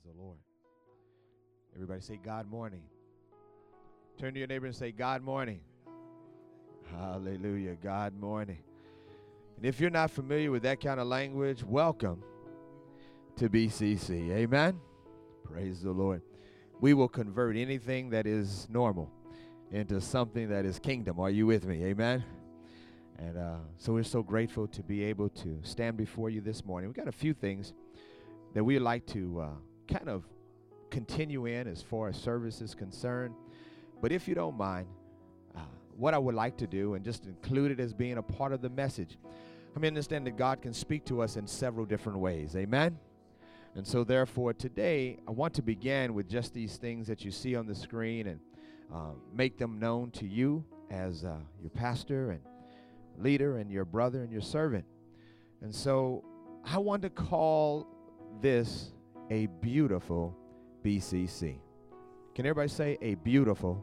the Lord. Everybody say God morning. Turn to your neighbor and say God morning. Hallelujah. God morning. And if you're not familiar with that kind of language, welcome to BCC. Amen. Praise the Lord. We will convert anything that is normal into something that is kingdom. Are you with me? Amen. And so we're so grateful to be able to stand before you this morning. We got a few things that we'd like to kind of continue in as far as service is concerned. But if you don't mind, what I would like to do and just include it as being a part of the message. I mean, understand that God can speak to us in several different ways. Amen? And so therefore today I want to begin with just these things that you see on the screen and make them known to you as your pastor and leader and your brother and your servant. And so I want to call this a beautiful BCC. Can everybody say a beautiful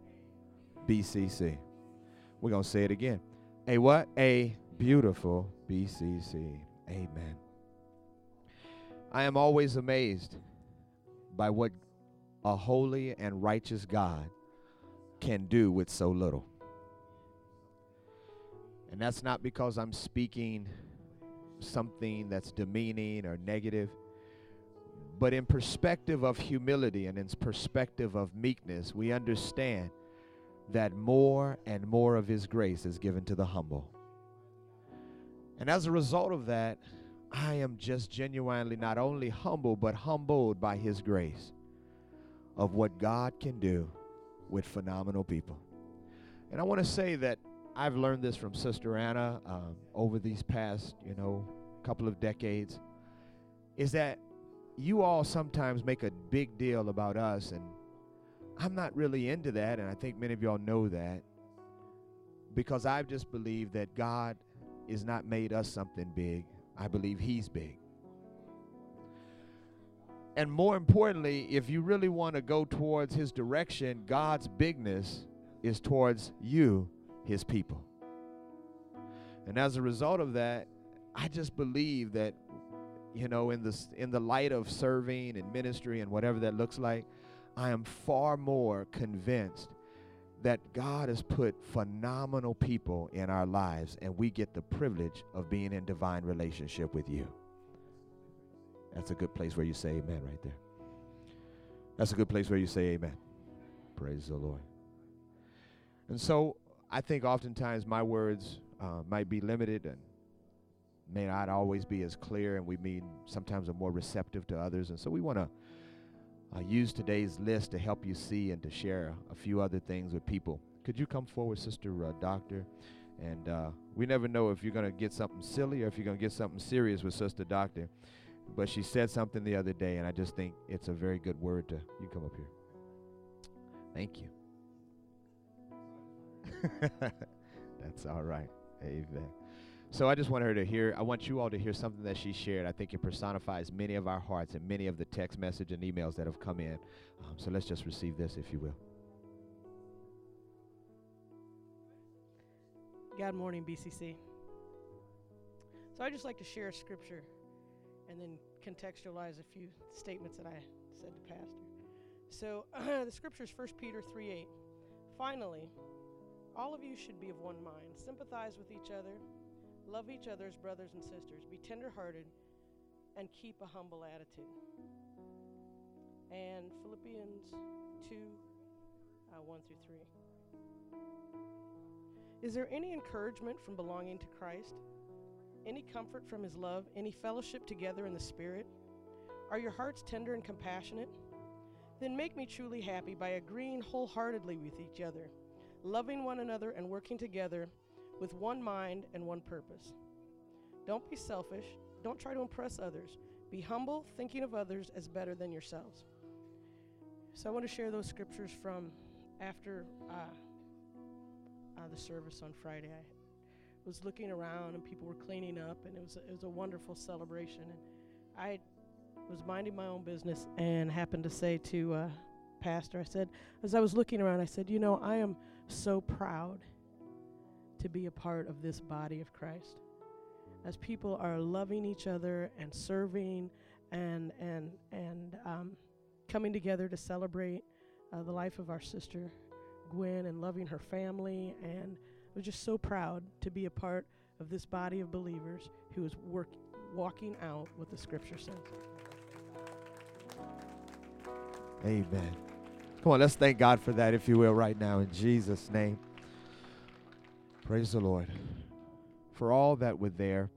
BCC? We're going to say it again. A what? A beautiful BCC. Amen. I am always amazed by what a holy and righteous God can do with so little. And that's not because I'm speaking something that's demeaning or negative, but in perspective of humility and in perspective of meekness, we understand that more and more of His grace is given to the humble. And as a result of that, I am just genuinely not only humble, but humbled by His grace of what God can do with phenomenal people. And I want to say that I've learned this from Sister Anna over these past, couple of decades, is that you all sometimes make a big deal about us, and I'm not really into that, and I think many of y'all know that, because I've just believed that God is not made us something big. I believe He's big. And more importantly, if you really want to go towards His direction, God's bigness is towards you, His people. And as a result of that, I just believe that, in the light of serving and ministry and whatever that looks like, I am far more convinced that God has put phenomenal people in our lives, and we get the privilege of being in divine relationship with you. That's a good place where you say amen right there. That's a good place where you say amen. Praise the Lord. And so I think oftentimes my words might be limited and may not always be as clear, and we mean sometimes are more receptive to others. And so we want to use today's list to help you see and to share a few other things with people. Could you come forward, Sister Doctor? And we never know if you're going to get something silly or if you're going to get something serious with Sister Doctor. But she said something the other day, and I just think it's a very good word to, you come up here. Thank you. That's all right. Amen. So I just want I want you all to hear something that she shared. I think it personifies many of our hearts and many of the text message and emails that have come in. So let's just receive this, if you will. God morning, BCC. So I'd just like to share a scripture and then contextualize a few statements that I said to Pastor. So the scripture is 1 Peter 3:8. Finally, all of you should be of one mind, sympathize with each other, love each other as brothers and sisters, be tenderhearted, and keep a humble attitude. And Philippians 2, 1 through 3. Is there any encouragement from belonging to Christ? Any comfort from His love? Any fellowship together in the Spirit? Are your hearts tender and compassionate? Then make me truly happy by agreeing wholeheartedly with each other, loving one another and working together with one mind and one purpose. Don't be selfish. Don't try to impress others. Be humble, thinking of others as better than yourselves. So I want to share those scriptures from after the service on Friday. I was looking around and people were cleaning up, and it was a wonderful celebration. And I was minding my own business and happened to say to Pastor, I said, as I was looking around, I said, I am so proud to be a part of this body of Christ. As people are loving each other and serving and coming together to celebrate the life of our sister Gwen and loving her family. And I was just so proud to be a part of this body of believers who is walking out what the scripture says. Amen. Come on, let's thank God for that, if you will, right now in Jesus' name. Praise the Lord. For all that were there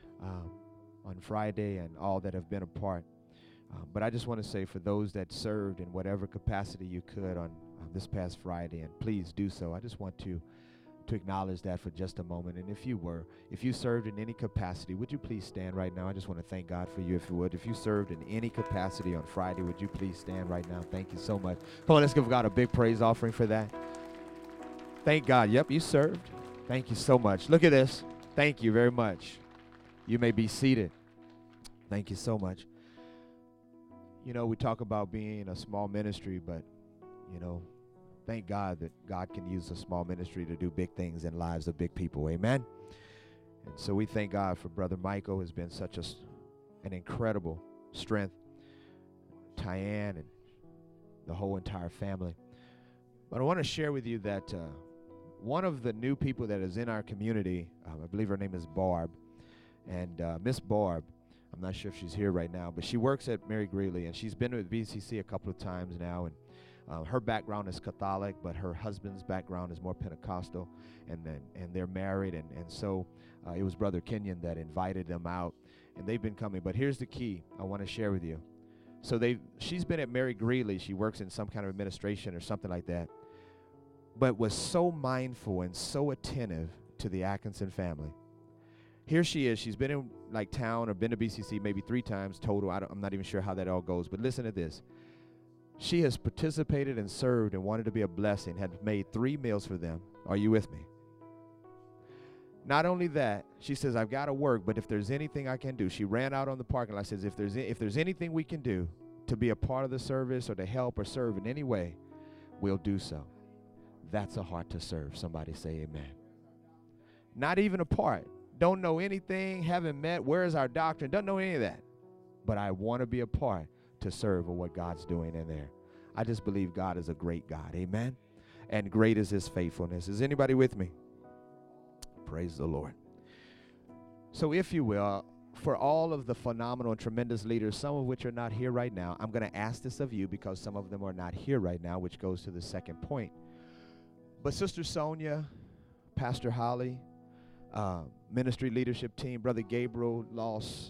on Friday and all that have been a part. But I just want to say, for those that served in whatever capacity you could on this past Friday, and please do so, I just want to acknowledge that for just a moment. And if you served in any capacity, would you please stand right now? I just want to thank God for you, if you would. If you served in any capacity on Friday, would you please stand right now? Thank you so much. Come on, let's give God a big praise offering for that. Thank God. Yep, you served. Thank you so much. Look at this. Thank you very much. You may be seated. Thank you so much. You know, we talk about being a small ministry, but, you know, thank God that God can use a small ministry to do big things in lives of big people. Amen. And so we thank God for Brother Michael, who's been such an incredible strength. Tyann and the whole entire family. But I want to share with you that one of the new people that is in our community, I believe her name is Barb. And Miss Barb, I'm not sure if she's here right now, but she works at Mary Greeley, and she's been with BCC a couple of times now. And her background is Catholic, but her husband's background is more Pentecostal, and they're married, and so it was Brother Kenyon that invited them out, and they've been coming. But here's the key I want to share with you. So she's been at Mary Greeley. She works in some kind of administration or something like that, but was so mindful and so attentive to the Atkinson family. Here she is. She's been in like town or been to BCC maybe 3 times total. I'm not even sure how that all goes, but listen to this. She has participated and served and wanted to be a blessing, had made 3 meals for them. Are you with me? Not only that, she says, I've got to work, but if there's anything I can do, she ran out on the parking lot, says, if there's anything we can do to be a part of the service or to help or serve in any way, we'll do so. That's a heart to serve. Somebody say amen. Not even a part. Don't know anything, haven't met, where's our doctrine, doesn't know any of that. But I want to be a part to serve of what God's doing in there. I just believe God is a great God. Amen. And great is his faithfulness. Is anybody with me? Praise the Lord. So if you will, for all of the phenomenal and tremendous leaders, some of which are not here right now, I'm going to ask this of you because some of them are not here right now, which goes to the second point. But Sister Sonia, Pastor Holly, ministry leadership team, Brother Gabriel lost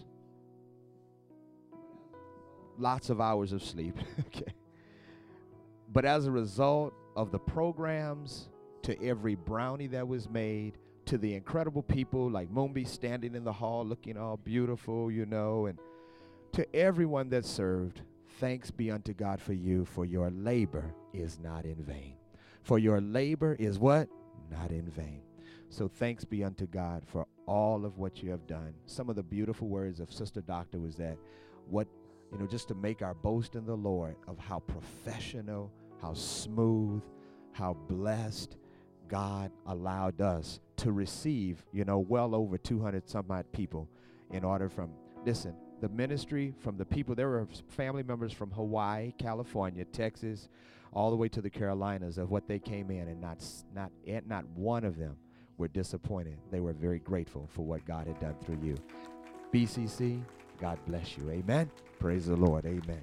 lots of hours of sleep. Okay. But as a result of the programs, to every brownie that was made, to the incredible people like Moonby standing in the hall looking all beautiful, you know, and to everyone that served, thanks be unto God for you, for your labor is not in vain. For your labor is what? Not in vain. So thanks be unto God for all of what you have done. Some of the beautiful words of Sister Doctor was that just to make our boast in the Lord of how professional, how smooth, how blessed God allowed us to receive, well over 200 some odd people in order the ministry from the people. There were family members from Hawaii, California, Texas, all the way to the Carolinas of what they came in, and not one of them were disappointed. They were very grateful for what God had done through you. BCC, God bless you. Amen. Praise the Lord. Amen.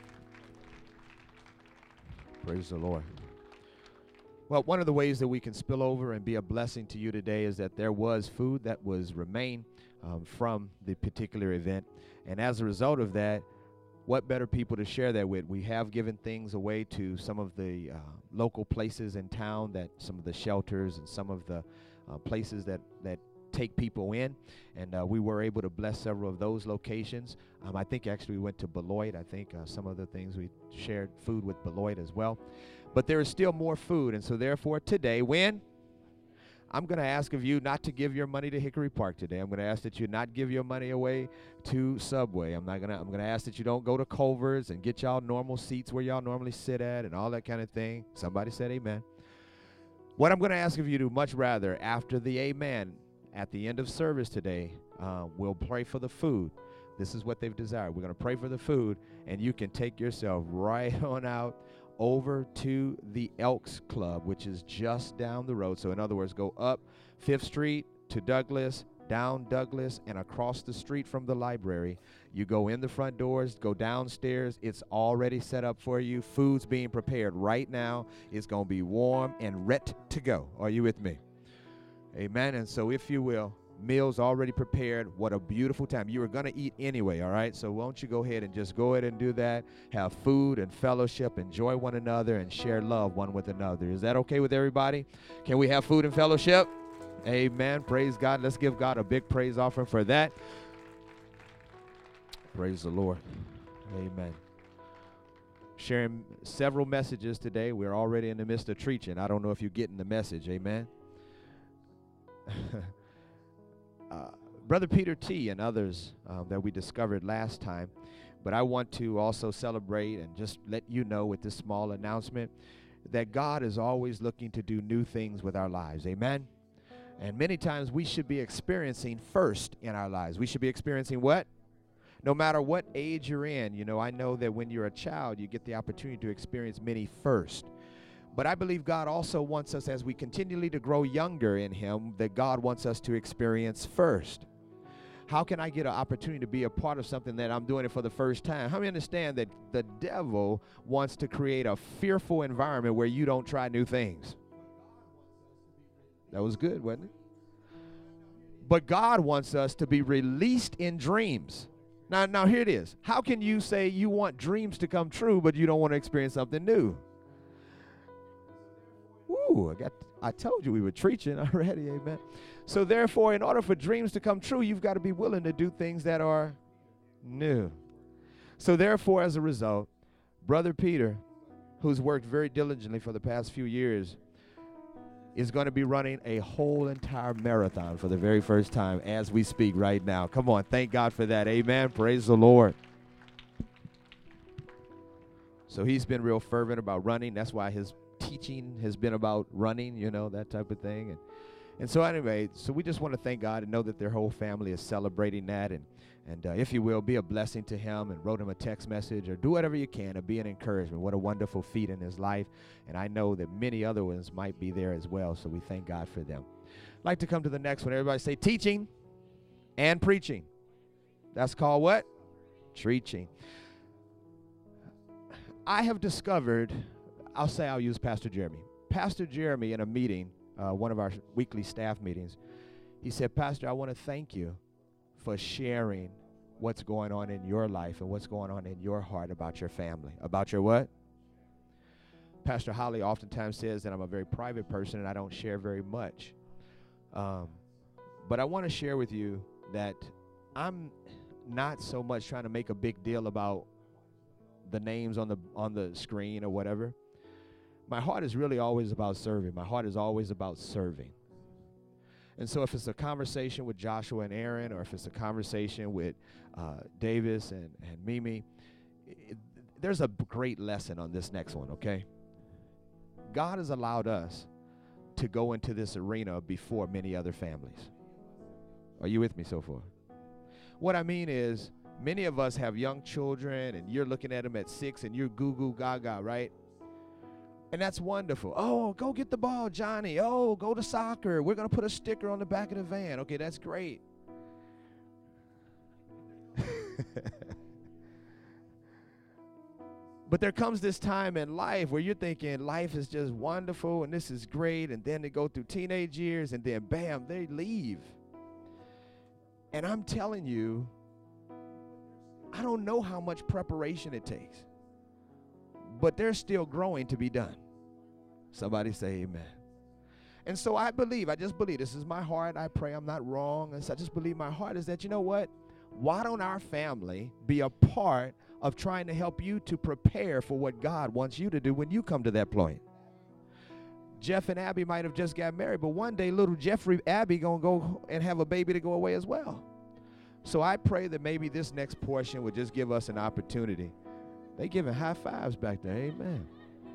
Praise the Lord. Well, one of the ways that we can spill over and be a blessing to you today is that there was food that was remained from the particular event. And as a result of that, what better people to share that with? We have given things away to some of the local places in town, that some of the shelters and some of the places that take people in, and we were able to bless several of those locations. I think actually we went to Beloit. I think some of the things we shared food with Beloit as well. But there is still more food, and so therefore today, I'm going to ask of you not to give your money to Hickory Park today. I'm going to ask that you not give your money away to Subway. I'm going to ask that you don't go to Culver's and get y'all normal seats where y'all normally sit at and all that kind of thing. Somebody said amen. What I'm going to ask of you to much rather, after the amen, at the end of service today, we'll pray for the food. This is what they've desired. We're going to pray for the food, and you can take yourself right on out over to the Elks Club, which is just down the road. So in other words, go up 5th Street to Douglas, down Douglas, and across the street from the library. You go in the front doors, go downstairs. It's already set up for you. Food's being prepared right now. It's going to be warm and ready to go. Are you with me? Amen. And so if you will, meals already prepared. What a beautiful time. You were going to eat anyway, all right? So won't you go ahead and just go ahead and do that. Have food and fellowship, enjoy one another, and share love one with another. Is that okay with everybody? Can we have food and fellowship? Amen. Praise God. Let's give God a big praise offering for that. Praise the Lord. Amen. Sharing several messages today. We're already in the midst of preaching. I don't know if you're getting the message. Amen. Brother Peter T. and others that we discovered last time, but I want to also celebrate and just let you know with this small announcement that God is always looking to do new things with our lives. Amen. And many times we should be experiencing first in our lives. We should be experiencing what? No matter what age you're in. You know, I know that when you're a child, you get the opportunity to experience many first. But I believe God also wants us, as we continually to grow younger in Him, that God wants us to experience first. How can I get an opportunity to be a part of something that I'm doing it for the first time? How many understand that the devil wants to create a fearful environment where you don't try new things? That was good, wasn't it? But God wants us to be released in dreams. Now here it is. How can you say you want dreams to come true, but you don't want to experience something new? Ooh, I told you we were preaching already, amen. So therefore, in order for dreams to come true, you've got to be willing to do things that are new. So therefore, as a result, Brother Peter, who's worked very diligently for the past few years, is going to be running a whole entire marathon for the very first time as we speak right now. Come on, thank God for that, amen. Praise the Lord. So he's been real fervent about running. That's why his teaching has been about running, you know, that type of thing. And so anyway, so we just want to thank God and know that their whole family is celebrating that. And if you will, be a blessing to him and wrote him a text message or do whatever you can to be an encouragement. What a wonderful feat in his life. And I know that many other ones might be there as well. So we thank God for them. I'd like to come to the next one. Everybody say teaching and preaching. That's called what? Preaching. I have discovered, I'll use Pastor Jeremy. Pastor Jeremy in a meeting, one of our weekly staff meetings, he said, Pastor, I want to thank you for sharing what's going on in your life and what's going on in your heart about your family. About your what? Pastor Holly oftentimes says that I'm a very private person and I don't share very much. But I want to share with you that I'm not so much trying to make a big deal about the names on the screen or whatever. My heart is really always about serving. My heart is always about serving. And so if it's a conversation with Joshua and Aaron, or if it's a conversation with Davis and Mimi, there's a great lesson on this next one, okay? God has allowed us to go into this arena before many other families. Are you with me so far? What I mean is, many of us have young children, and you're looking at them at 6, and you're goo-goo gaga, right? And that's wonderful. Oh, go get the ball, Johnny. Oh, go to soccer. We're going to put a sticker on the back of the van. Okay, that's great. But there comes this time in life where you're thinking life is just wonderful and this is great, and then they go through teenage years, and then bam, they leave. And I'm telling you, I don't know how much preparation it takes, but there's still growing to be done. Somebody say amen. And so I just believe, this is my heart. I pray I'm not wrong. And so I just believe my heart is that, you know what? Why don't our family be a part of trying to help you to prepare for what God wants you to do when you come to that point? Jeff and Abby might have just got married, but one day little Jeffrey Abby going to go and have a baby to go away as well. So I pray that maybe this next portion would just give us an opportunity. They giving high fives back there. Amen.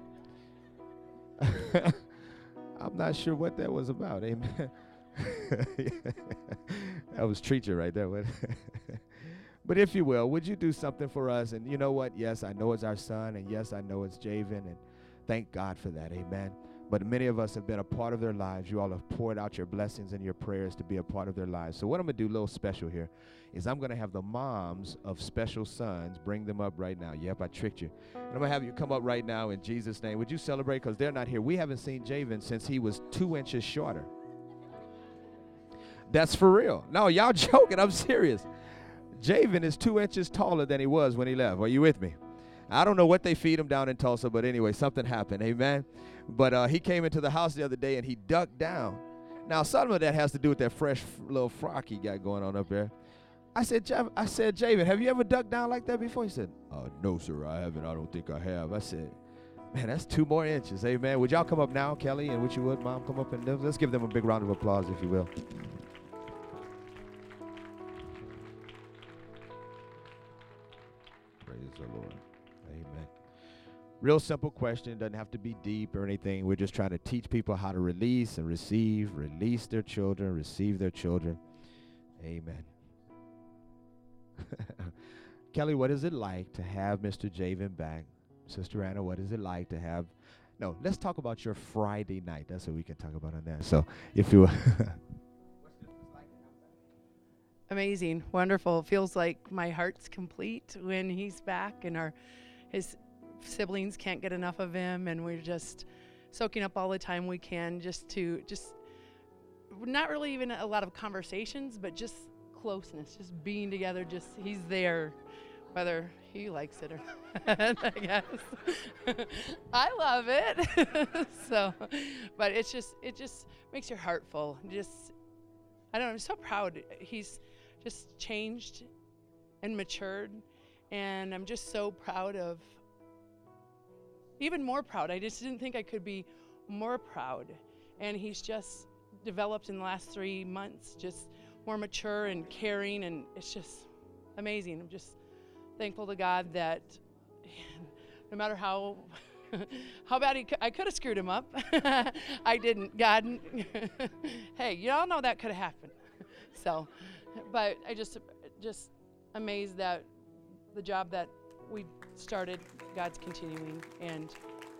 I'm not sure what that was about. Amen. That was treacher right there. But if you will, would you do something for us? And you know what? Yes, I know it's our son, and yes, I know it's Javen, and thank God for that. Amen. But many of us have been a part of their lives. You all have poured out your blessings and your prayers to be a part of their lives. So what I'm going to do a little special here is I'm going to have the moms of special sons bring them up right now. Yep, I tricked you. And I'm going to have you come up right now in Jesus' name. Would you celebrate? Because they're not here. We haven't seen Javen since he was 2 inches shorter. That's for real. No, y'all joking. I'm serious. Javen is 2 inches taller than he was when he left. Are you with me? I don't know what they feed him down in Tulsa, but anyway, something happened. Amen. But he came into the house the other day, and he ducked down. Now, some of that has to do with that fresh little frock he got going on up there. I said, Javen, have you ever ducked down like that before? He said, no, sir, I haven't. I don't think I have. I said, man, that's 2 more inches. Amen. Would y'all come up now, Kelly, and would you would, Mom, come up and let's give them a big round of applause, if you will. Praise the Lord. Amen. Real simple question. It doesn't have to be deep or anything. We're just trying to teach people how to release and receive, release their children, receive their children. Amen. Kelly, what is it like to have Mr. Javen back? Sister Anna, what is it like to have? No, let's talk about your Friday night. That's what we can talk about on that. So if you Amazing, wonderful. Feels like my heart's complete when he's back, and his siblings can't get enough of him, and we're just soaking up all the time we can, just not really even a lot of conversations, but just closeness, just being together. Just he's there, whether he likes it or not, I guess. I love it. So, but it just makes your heart full. I don't know, I'm so proud. He's just changed and matured, and I'm just so proud of, even more proud. I just didn't think I could be more proud. And he's just developed in the last 3 months, just more mature and caring, and it's just amazing. I'm just thankful to God that no matter how bad I could have screwed him up, I didn't. God, hey, you all know that could have happened. So, but I just amazed that the job that we started, God's continuing. And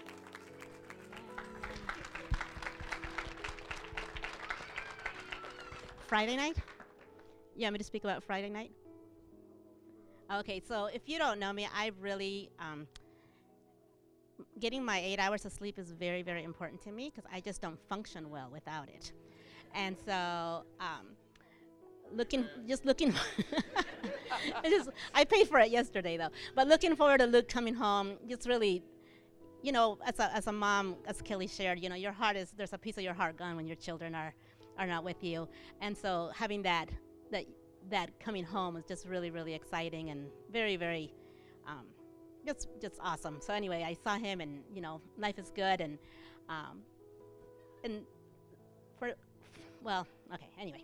Friday night? You want me to speak about Friday night? Okay, so if you don't know me, I really, getting my 8 hours of sleep is very, very important to me because I just don't function well without it. And so, looking, I paid for it yesterday though, but looking forward to Luke coming home, just really, you know, as a mom, as Kelly shared, you know, your heart there's a piece of your heart gone when your children are not with you. And so having that coming home is just really, really exciting and very, very, just awesome. So anyway, I saw him, and you know, life is good, and anyway,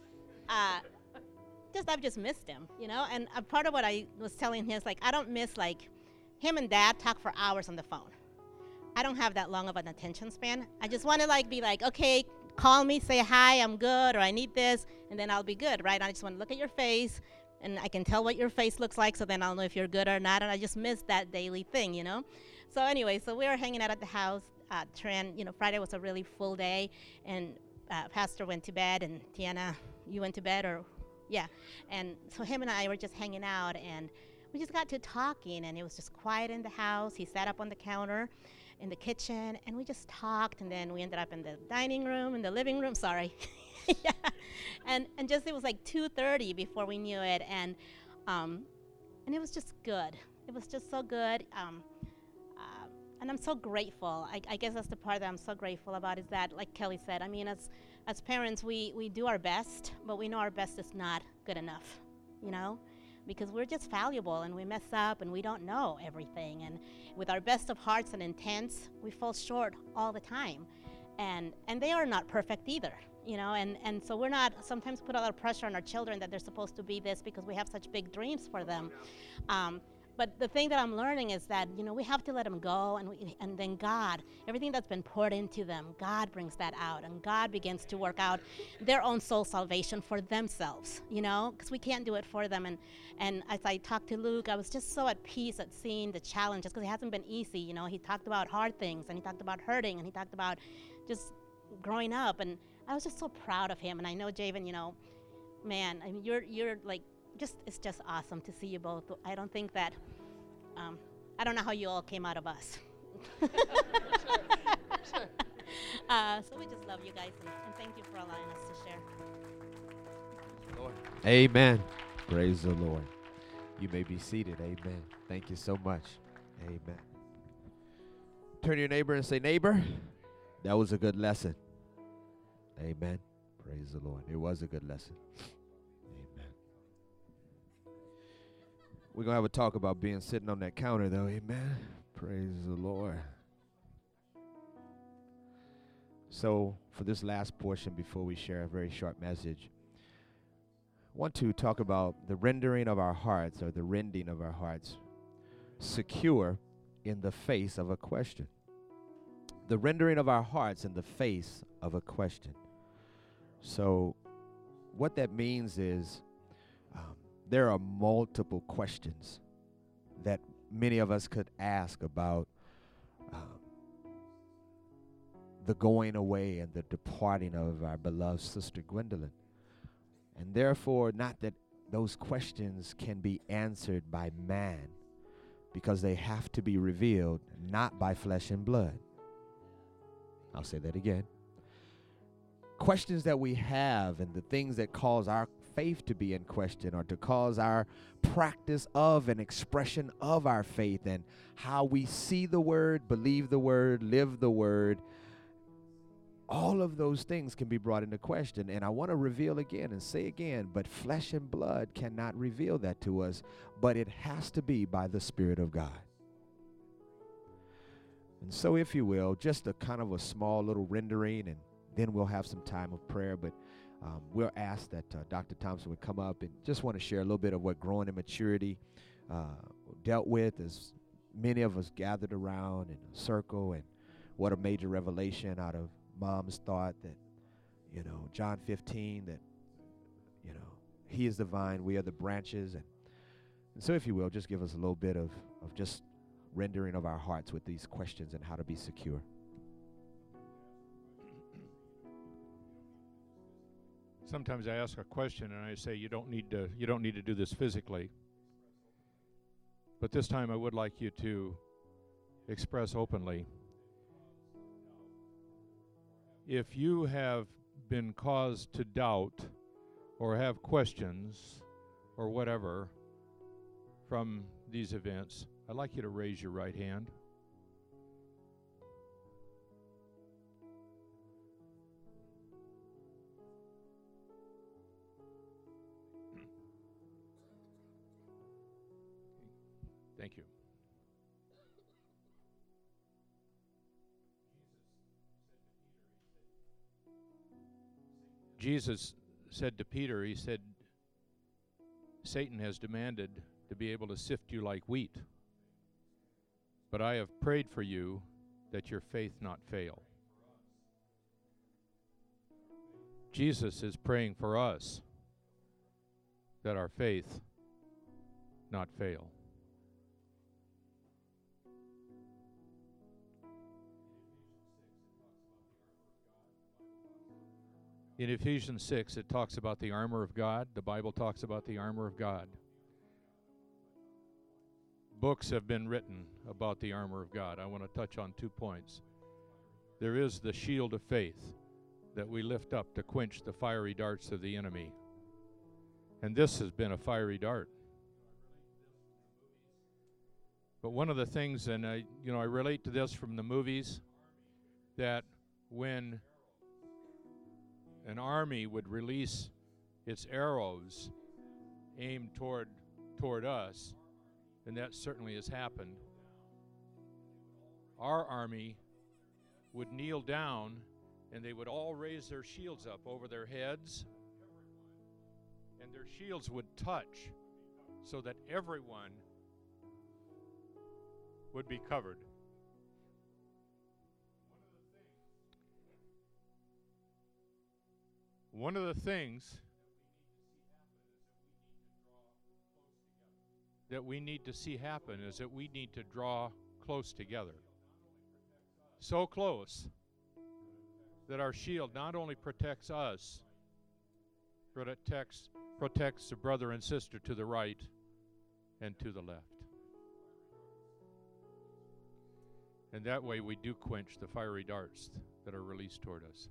I've just missed him, you know. And part of what I was telling him is like, I don't miss like him and Dad talk for hours on the phone. I don't have that long of an attention span. I just want to like be like, okay, call me, say hi, I'm good, or I need this, and then I'll be good, right? I just want to look at your face, and I can tell what your face looks like, so then I'll know if you're good or not, and I just miss that daily thing, you know? So anyway, so we were hanging out at the house. Trent, you know, Friday was a really full day, and Pastor went to bed, and Tiana, you went to bed, and so him and I were just hanging out, and we just got to talking, and it was just quiet in the house. He sat up on the counter in the kitchen, and we just talked, and then we ended up in the dining room, in the living room, sorry. Yeah. And just, it was like 2:30 before we knew it, and it was just good. It was just so good, and I'm so grateful. I guess that's the part that I'm so grateful about, is that, like Kelly said, I mean, as parents, we do our best, but we know our best is not good enough, you know? Because we're just fallible, and we mess up, and we don't know everything. And with our best of hearts and intents, we fall short all the time. And they are not perfect either, you know, and so we're not, sometimes put a lot of pressure on our children that they're supposed to be this because we have such big dreams for them. But But the thing that I'm learning is that, we have to let them go, and then God, everything that's been poured into them, God brings that out, and God begins to work out their own soul salvation for themselves, because we can't do it for them. And as I talked to Luke, I was just so at peace at seeing the challenges, because it hasn't been easy. He talked about hard things, and he talked about hurting, and he talked about just growing up, and I was just so proud of him. And I know, Javen, man, I mean, you're like, it's just awesome to see you both. I don't think that, I don't know how you all came out of us. Sure. So we just love you guys, and thank you for allowing us to share. Lord. Amen. Praise the Lord. You may be seated. Amen. Thank you so much. Amen. Turn to your neighbor and say, neighbor, that was a good lesson. Amen. Praise the Lord. It was a good lesson. We're going to have a talk about being sitting on that counter, though. Amen. Praise the Lord. So, for this last portion, before we share a very short message, I want to talk about the rendering of our hearts, or the rending of our hearts, secure in the face of a question. The rendering of our hearts in the face of a question. So, what that means is, there are multiple questions that many of us could ask about the going away and the departing of our beloved sister Gwendolyn. And therefore, not that those questions can be answered by man, because they have to be revealed not by flesh and blood. I'll say that again. Questions that we have and the things that cause our faith to be in question, or to cause our practice of and expression of our faith, and how we see the word, believe the word, live the word, all of those things can be brought into question. And I want to reveal again and say again, but flesh and blood cannot reveal that to us, but it has to be by the Spirit of God. And so, if you will, just a kind of a small little rendering, and then we'll have some time of prayer. But we'll ask that Dr. Thompson would come up and just want to share a little bit of what growing in maturity dealt with, as many of us gathered around in a circle, and what a major revelation out of Mom's thought that, John 15, that, he is the vine, we are the branches. And so, if you will, just give us a little bit of just rendering of our hearts with these questions and how to be secure. Sometimes I ask a question and I say, you don't need to do this physically. But this time I would like you to express openly. If you have been caused to doubt or have questions or whatever from these events, I'd like you to raise your right hand. Thank you. Jesus said to Peter, he said, Satan has demanded to be able to sift you like wheat, but I have prayed for you that your faith not fail. Jesus is praying for us that our faith not fail. In Ephesians 6, it talks about the armor of God. The Bible talks about the armor of God. Books have been written about the armor of God. I want to touch on 2 points. There is the shield of faith that we lift up to quench the fiery darts of the enemy. And this has been a fiery dart. But one of the things, and I relate to this from the movies, that when an army would release its arrows aimed toward us, and that certainly has happened, our army would kneel down and they would all raise their shields up over their heads, and their shields would touch so that everyone would be covered. One of the things that we need to see happen is that we need to draw close together. So close that our shield not only protects us, but it protects the brother and sister to the right and to the left. And that way we do quench the fiery darts that are released toward us.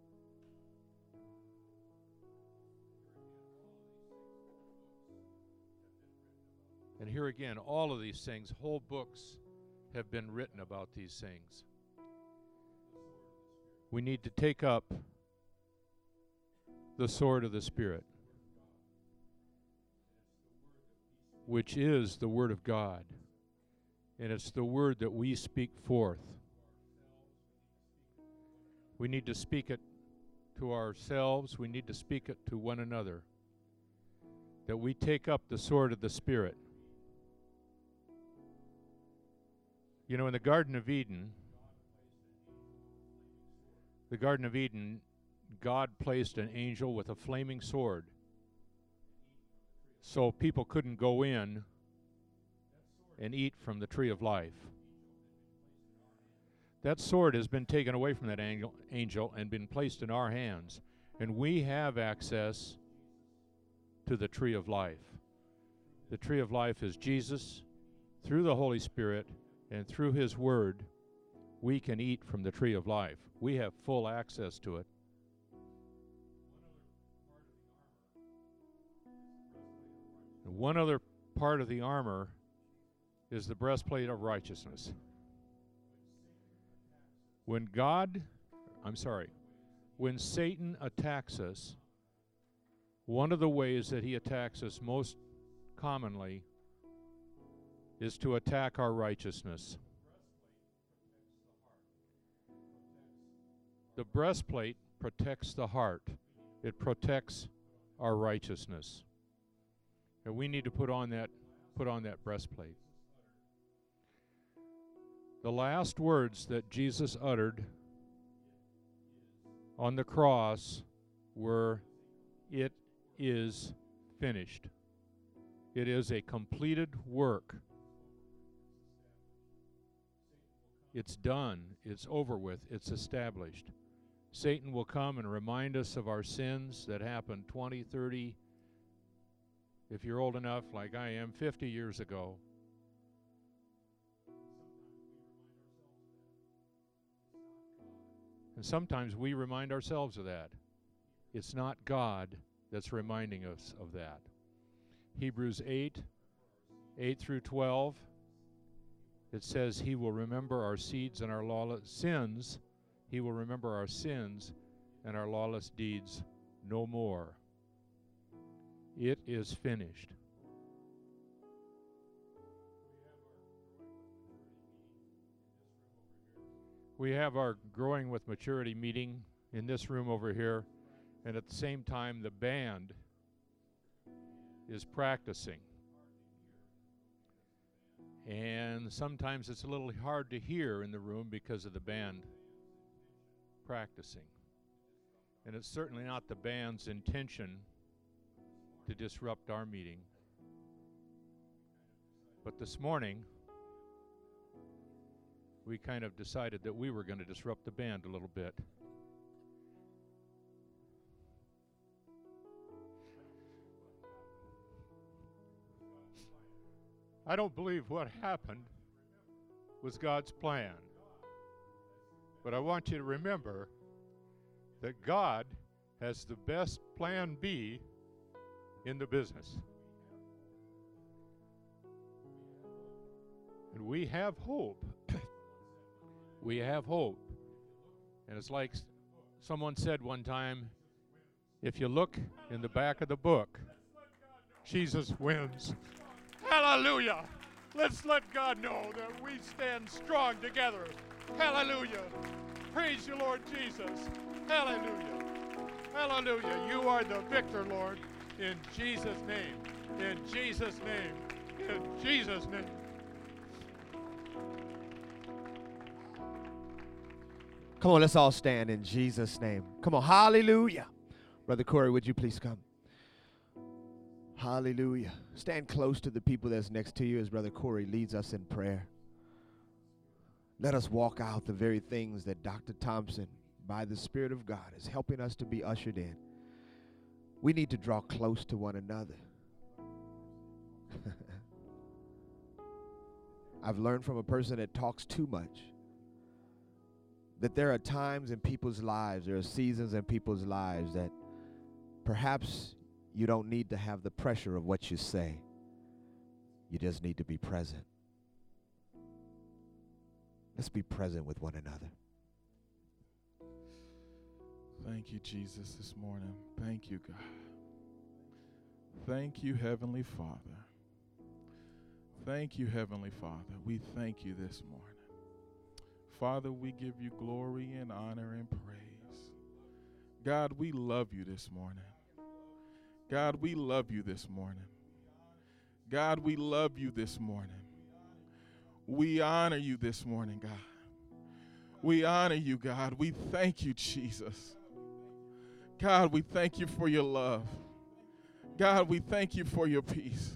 And here again, all of these things, whole books have been written about these things. We need to take up the sword of the Spirit, which is the Word of God. And it's the Word that we speak forth. We need to speak it to ourselves. We need to speak it to one another. That we take up the sword of the Spirit. You know, in the Garden of Eden, God placed an angel with a flaming sword so people couldn't go in and eat from the tree of life. That sword has been taken away from that angel and been placed in our hands, and we have access to the tree of life. The tree of life is Jesus. Through the Holy Spirit and through His Word, we can eat from the tree of life. We have full access to it. And one other part of the armor is the breastplate of righteousness. When Satan attacks us, one of the ways that he attacks us most commonly is to attack our righteousness. The breastplate protects the heart. It protects our righteousness. And we need to put on that breastplate. The last words that Jesus uttered on the cross were, "It is finished." It is a completed work. It's done. It's over with. It's established. Satan will come and remind us of our sins that happened 20, 30, if you're old enough, like I am, 50 years ago. And sometimes we remind ourselves of that. It's not God that's reminding us of that. Hebrews 8 through 12, it says, He will remember our seeds and our lawless sins. He will remember our sins and our lawless deeds no more. It is finished. We have our Growing with Maturity meeting in this room over here, and at the same time the band is practicing. And sometimes it's a little hard to hear in the room because of the band practicing. And it's certainly not the band's intention to disrupt our meeting. But this morning, we kind of decided that we were going to disrupt the band a little bit. I don't believe what happened was God's plan. But I want you to remember that God has the best plan B in the business. And we have hope. We have hope. And it's like someone said one time, if you look in the back of the book, Jesus wins. Hallelujah! Let's let God know that we stand strong together. Hallelujah! Praise you, Lord Jesus. Hallelujah! Hallelujah! You are the victor, Lord. In Jesus' name. In Jesus' name. In Jesus' name. Come on, let's all stand in Jesus' name. Come on, hallelujah. Brother Corey, would you please come? Hallelujah. Stand close to the people that's next to you as Brother Corey leads us in prayer. Let us walk out the very things that Dr. Thompson, by the Spirit of God, is helping us to be ushered in. We need to draw close to one another. I've learned from a person that talks too much that there are times in people's lives, there are seasons in people's lives that perhaps you don't need to have the pressure of what you say. You just need to be present. Let's be present with one another. Thank you, Jesus, this morning. Thank you, God. Thank you, Heavenly Father. Thank you, Heavenly Father. We thank you this morning. Father, we give you glory and honor and praise. God, we love you this morning. God, we love you this morning. God, we love you this morning. We honor you this morning, God. We honor you, God. We thank you, Jesus. God, we thank you for your love. God, we thank you for your peace.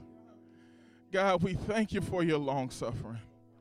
God, we thank you for your long suffering.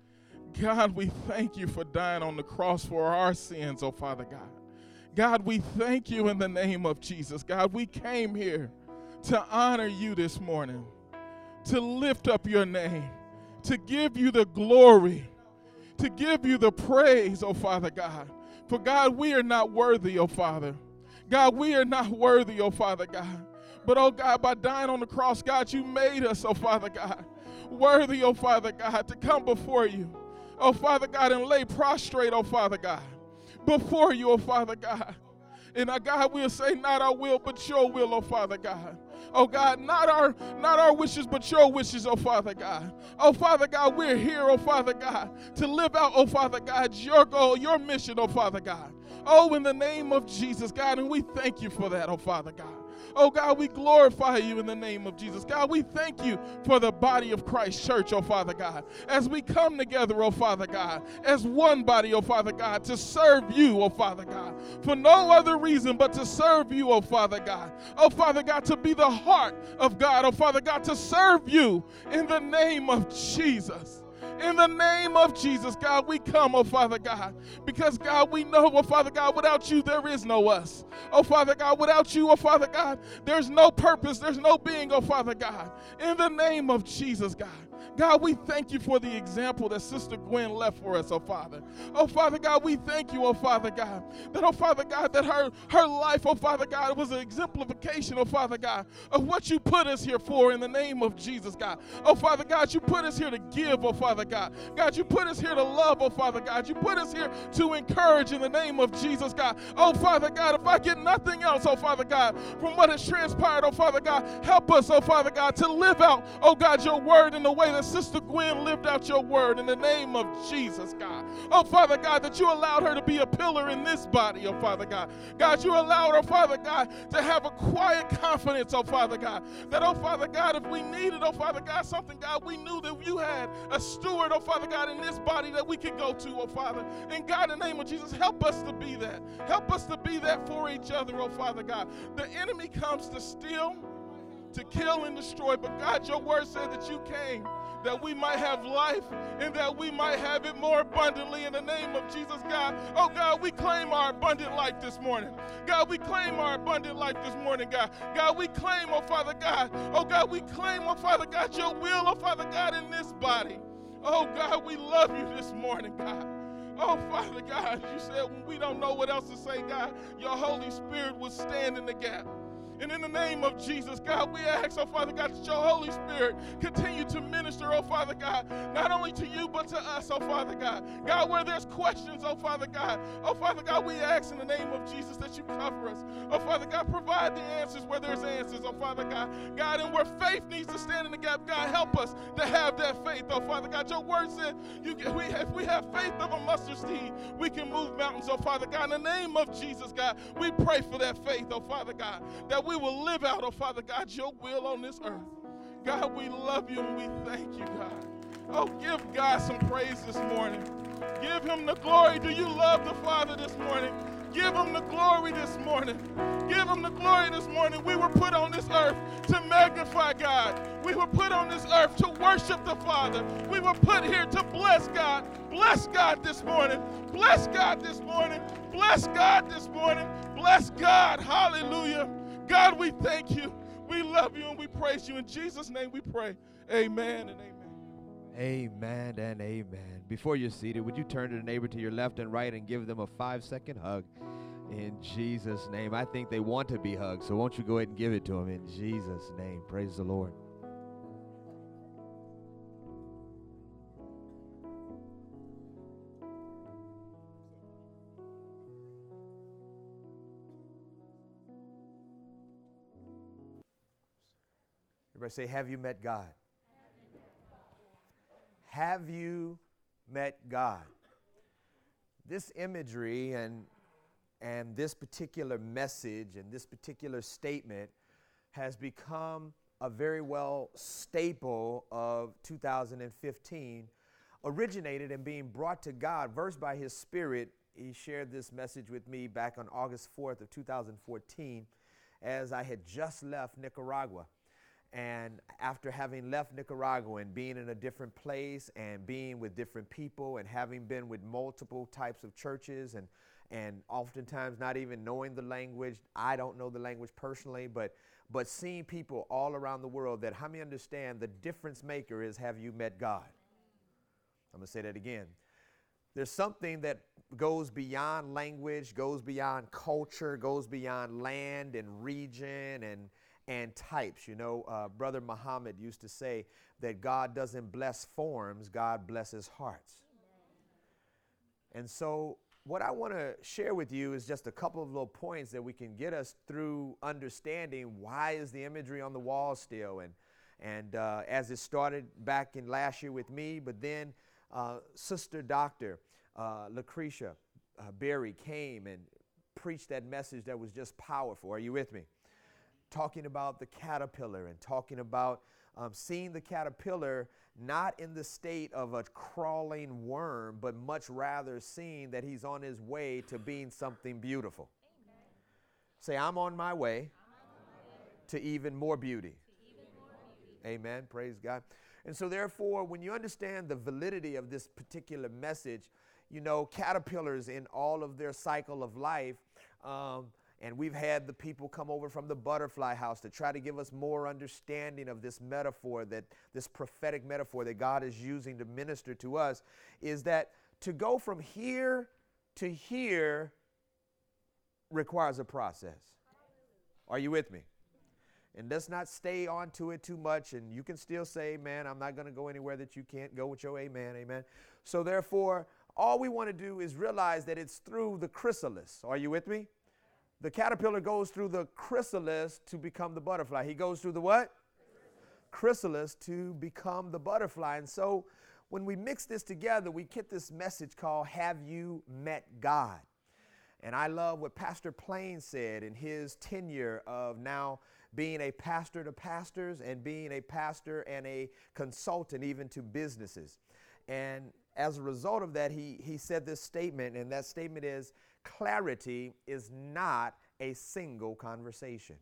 God, we thank you for dying on the cross for our sins, oh Father God. God, we thank you in the name of Jesus. God, we came here to honor you this morning, to lift up your name, to give you the glory, to give you the praise, oh Father God. For God, we are not worthy, oh Father. God, we are not worthy, oh Father God. But, oh God, by dying on the cross, God, you made us, oh Father God, worthy, oh Father God, to come before you, oh Father God, and lay prostrate, oh Father God, before you, oh Father God. And God, we'll say, not our will, but your will, oh Father God. Oh God, not our wishes, but your wishes, oh Father God. Oh Father God, we're here, oh Father God, to live out, oh Father God, your goal, your mission, oh Father God. Oh, in the name of Jesus, God, and we thank you for that, oh Father God. Oh God, we glorify you in the name of Jesus. God, we thank you for the body of Christ Church, oh Father God, as we come together, oh Father God, as one body, oh Father God, to serve you, oh Father God, for no other reason but to serve you, oh Father God. Oh Father God, to be the heart of God, oh Father God, to serve you in the name of Jesus. In the name of Jesus, God, we come, oh Father God, because God, we know, oh Father God, without you there is no us. Oh Father God, without you, oh Father God, there's no purpose, there's no being, oh Father God. In the name of Jesus, God. God, we thank you for the example that Sister Gwen left for us, oh Father. Oh Father God, we thank you, oh Father God, that, oh Father God, that her life, oh Father God, was an exemplification, oh Father God, of what you put us here for in the name of Jesus, God. Oh Father God, you put us here to give, oh Father God. God, you put us here to love, oh Father God. You put us here to encourage in the name of Jesus, God. Oh Father God, if I get nothing else, oh Father God, from what has transpired, oh Father God, help us, oh Father God, to live out, oh God, your word in the way that Sister Gwen lived out your word in the name of Jesus, God. Oh, Father God, that you allowed her to be a pillar in this body, oh, Father God. God, you allowed her, Father God, to have a quiet confidence, oh, Father God, that, oh, Father God, if we needed, oh, Father God, something, God, we knew that you had a steward, oh, Father God, in this body that we could go to, oh, Father. And, God, in the name of Jesus, help us to be that. Help us to be that for each other, oh, Father God. The enemy comes to steal, to kill, and destroy, but, God, your word said that you came that we might have life and that we might have it more abundantly in the name of Jesus, God. Oh, God, we claim our abundant life this morning. God, we claim our abundant life this morning, God. God, we claim, oh, Father God. Oh, God, we claim, oh, Father God, your will, oh, Father God, in this body. Oh, God, we love you this morning, God. Oh, Father God, you said when we don't know what else to say, God, your Holy Spirit will stand in the gap. And in the name of Jesus, God, we ask, oh, Father God, that your Holy Spirit continue to minister, oh, Father God, not only to you, but to us, oh, Father God. God, where there's questions, oh, Father God, we ask in the name of Jesus that you cover us. Oh, Father God, provide the answers where there's answers, oh, Father God. God, and where faith needs to stand in the gap, God, help us to have that faith, oh, Father God. Your word said if we have faith of a mustard seed, we can move mountains, oh, Father God. In the name of Jesus, God, we pray for that faith, oh, Father God, that we will live out, oh Father God, your will on this earth. God, we love you and we thank you, God. Oh, give God some praise this morning. Give him the glory. Do you love the Father this morning? Give him the glory this morning. Give him the glory this morning. We were put on this earth to magnify God. We were put on this earth to worship the Father. We were put here to bless God. Bless God this morning. Bless God this morning. Bless God this morning. Bless God. Hallelujah. God, we thank you. We love you and we praise you. In Jesus' name we pray. Amen and amen. Amen and amen. Before you're seated, would you turn to the neighbor to your left and right and give them a 5-second hug in Jesus' name? I think they want to be hugged, so won't you go ahead and give it to them in Jesus' name. Praise the Lord. Everybody say, have you met God? Have you met God? This imagery and this particular message and this particular statement has become a very well staple of 2015, originated and being brought to God, versed by his Spirit. He shared this message with me back on August 4th of 2014 as I had just left Nicaragua. And after having left Nicaragua and being in a different place and being with different people and having been with multiple types of churches and oftentimes not even knowing the language, I don't know the language personally, but seeing people all around the world, that how many understand the difference maker is, have you met God? I'm going to say that again. There's something that goes beyond language, goes beyond culture, goes beyond land and region and types. You know, Brother Muhammad used to say that God doesn't bless forms, God blesses hearts. And so what I want to share with you is just a couple of little points that we can get us through understanding why is the imagery on the wall still. And as it started back in last year with me, but then Sister Dr. Lucretia Berry came and preached that message that was just powerful. Are you with me? Talking about the caterpillar and talking about seeing the caterpillar not in the state of a crawling worm, but much rather seeing that he's on his way to being something beautiful. Amen. Say, I'm on my way to even more beauty. Amen. Praise God. And so therefore, when you understand the validity of this particular message, you know, caterpillars in all of their cycle of life, and we've had the people come over from the Butterfly House to try to give us more understanding of this metaphor, that this prophetic metaphor that God is using to minister to us, is that to go from here to here requires a process. Are you with me? And let's not stay on to it too much. And you can still say, man, I'm not going to go anywhere that you can't go with your amen, amen. So therefore, all we want to do is realize that it's through the chrysalis. Are you with me? The caterpillar goes through the chrysalis to become the butterfly. He goes through the what? Chrysalis to become the butterfly. And so when we mix this together, we get this message called, have you met God? And I love what Pastor Plain said in his tenure of now being a pastor to pastors and being a pastor and a consultant even to businesses. And as a result of that, he said this statement, and that statement is, clarity is not a single conversation.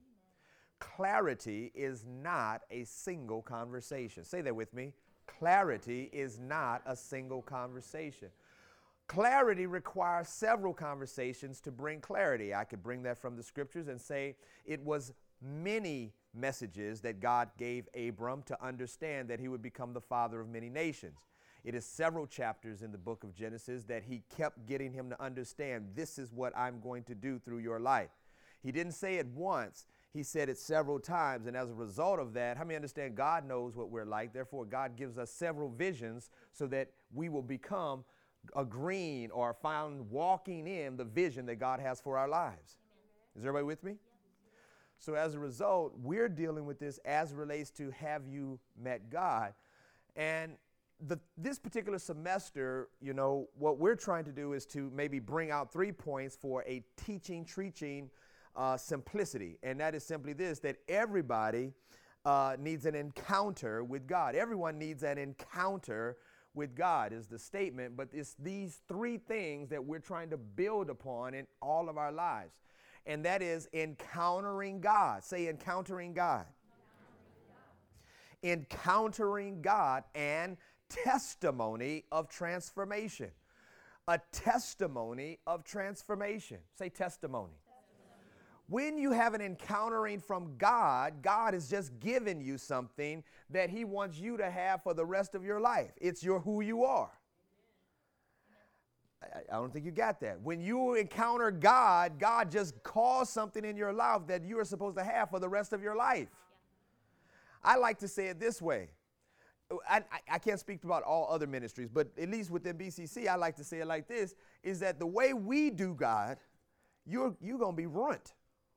Clarity is not a single conversation. Say that with me. Clarity is not a single conversation. Clarity requires several conversations to bring clarity. I could bring that from the scriptures and say it was many messages that God gave Abram to understand that he would become the father of many nations. It is several chapters in the book of Genesis that he kept getting him to understand, this is what I'm going to do through your life. He didn't say it once. He said it several times. And as a result of that, how many understand God knows what we're like? Therefore, God gives us several visions so that we will become agreeing or found walking in the vision that God has for our lives. Is everybody with me? So as a result, we're dealing with this as it relates to, have you met God? And this particular semester, you know, what we're trying to do is to maybe bring out 3 points for a teaching simplicity. And that is simply this, that everybody needs an encounter with God. Everyone needs an encounter with God is the statement, but it's these three things that we're trying to build upon in all of our lives. And that is encountering God. Say encountering God. Encountering God and testimony of transformation. A testimony of transformation. Say testimony. When you have an encountering from God, God has just given you something that he wants you to have for the rest of your life. It's who you are. I don't think you got that. When you encounter God, God just calls something in your life that you are supposed to have for the rest of your life. I like to say it this way. I can't speak about all other ministries, but at least within BCC, I like to say it like this, is that the way we do God, you're going to be ruined.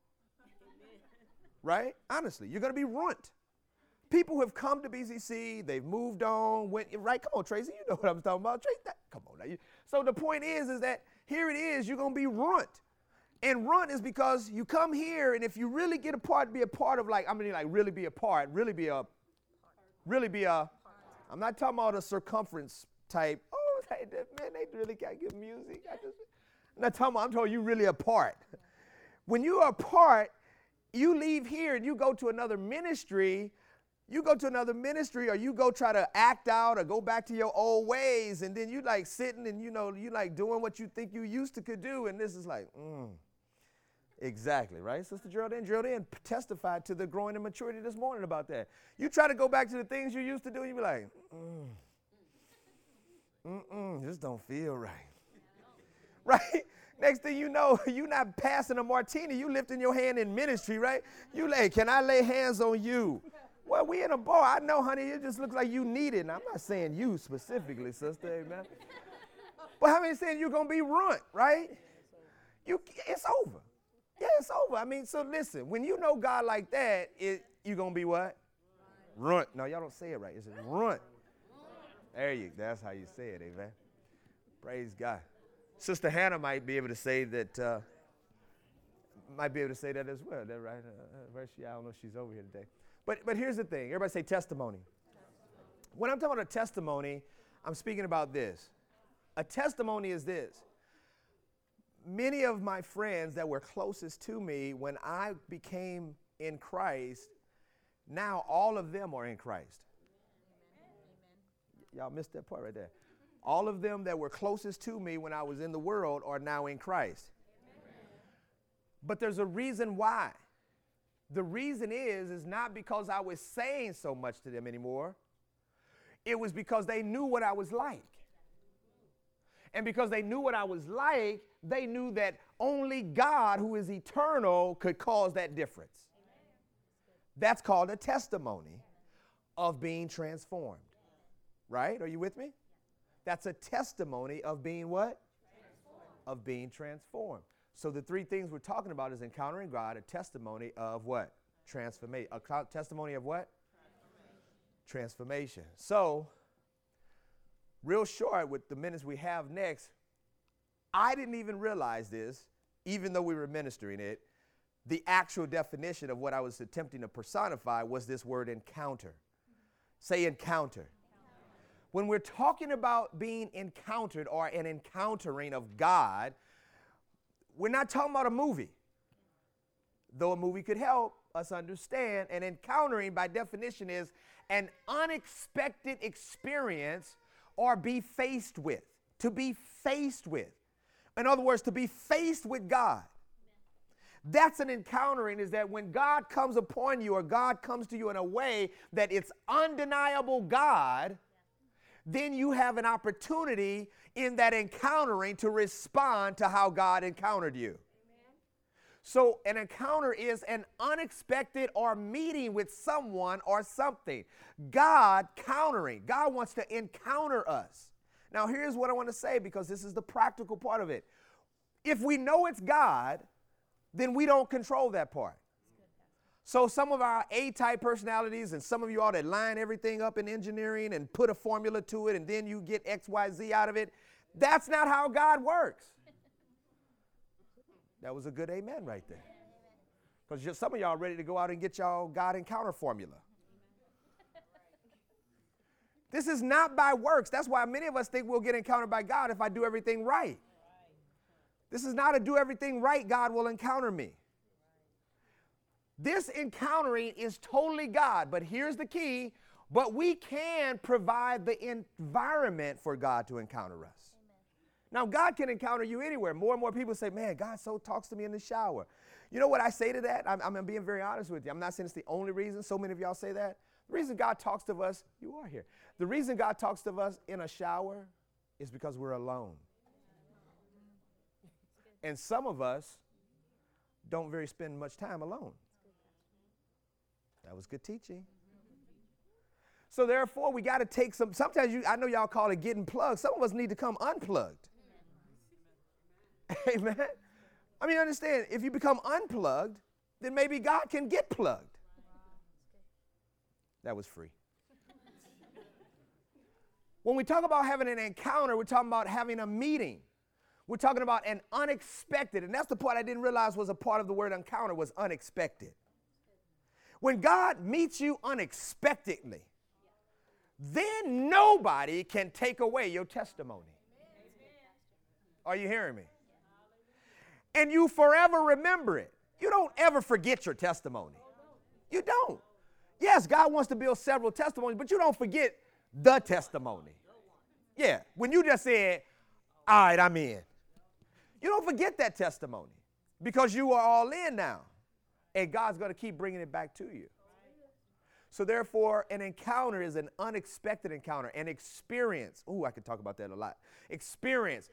Right? Honestly, you're going to be ruined. People have come to BCC, they've moved on, right? Come on, Tracy, you know what I'm talking about. Tracy, come on now. So the point is that here it is, you're going to be ruined. And ruined is because you come here, and if you really get a part, be a part of really be a part, I'm not talking about a circumference type, man, they really got good music. I'm talking about you really a part. When you are a part, you leave here and you go to another ministry, or you go try to act out or go back to your old ways, and then you like sitting and you like doing what you think you used to could do, and this is like, exactly, right? Sister Geraldine testified to the growing in maturity this morning about that. You try to go back to the things you used to do, and you be like, this don't feel right. Right? Next thing you know, you're not passing a martini. You lifting your hand in ministry, right? You can I lay hands on you? Well, we in a bar. I know, honey, it just looks like you need it. And I'm not saying you specifically, sister, amen. But how many saying you're going to be ruined, right? It's over. Yeah, it's over. I mean, so listen, when you know God like that, you're going to be what? Ruined. No, y'all don't say it right. It's ruined. That's how you say it, amen. Praise God. Sister Hannah might be able to say that. As well. That right? I don't know if she's over here today. But here's the thing. Everybody say testimony. When I'm talking about a testimony, I'm speaking about this. A testimony is this. Many of my friends that were closest to me when I became in Christ, now all of them are in Christ. Y'all missed that part right there. All of them that were closest to me when I was in the world are now in Christ. Amen. But there's a reason why. The reason is not because I was saying so much to them anymore. It was because they knew what I was like. And because they knew what I was like, they knew that only God, who is eternal, could cause that difference. That's called a testimony of being transformed. Right? Are you with me? That's a testimony of being what? Of being transformed. So the three things we're talking about is encountering God, a testimony of what? Transformation. A testimony of what? Transformation. So, real short with the minutes we have next, I didn't even realize this, even though we were ministering it. The actual definition of what I was attempting to personify was this word encounter. Say encounter. When we're talking about being encountered or an encountering of God, we're not talking about a movie. Though a movie could help us understand, an encountering by definition is an unexpected experience or be faced with. To be faced with. In other words, to be faced with God. That's an encountering, is that when God comes upon you or God comes to you in a way that it's undeniable God, then you have an opportunity in that encountering to respond to how God encountered you. Amen. So an encounter is an unexpected or meeting with someone or something. God countering. God wants to encounter us. Now here's what I want to say, because this is the practical part of it. If we know it's God, then we don't control that part. So some of our A-type personalities and some of you all that line everything up in engineering and put a formula to it and then you get X, Y, Z out of it, that's not how God works. That was a good amen right there. Because some of y'all ready to go out and get y'all God encounter formula. This is not by works. That's why many of us think we'll get encountered by God if I do everything right. This is not a do everything right, God will encounter me. This encountering is totally God, but here's the key. But we can provide the environment for God to encounter us. Now, God can encounter you anywhere. More and more people say, man, God so talks to me in the shower. You know what I say to that? I'm being very honest with you. I'm not saying it's the only reason. So many of y'all say that. The reason God talks to us, you are here. The reason God talks to us in a shower is because we're alone. And some of us don't very spend much time alone. That was good teaching. So therefore, we got to take sometimes I know y'all call it getting plugged. Some of us need to come unplugged. Amen. I mean, understand, if you become unplugged, then maybe God can get plugged. That was free. When we talk about having an encounter, we're talking about having a meeting. We're talking about an unexpected, and that's the part I didn't realize was a part of the word encounter was unexpected. When God meets you unexpectedly, then nobody can take away your testimony. Are you hearing me? And you forever remember it. You don't ever forget your testimony. You don't. Yes, God wants to build several testimonies, but you don't forget the testimony. Yeah, when you just said, all right, I'm in. You don't forget that testimony because you are all in now. And God's going to keep bringing it back to you. So therefore, an encounter is an unexpected encounter, an experience. Ooh, I could talk about that a lot. Experience,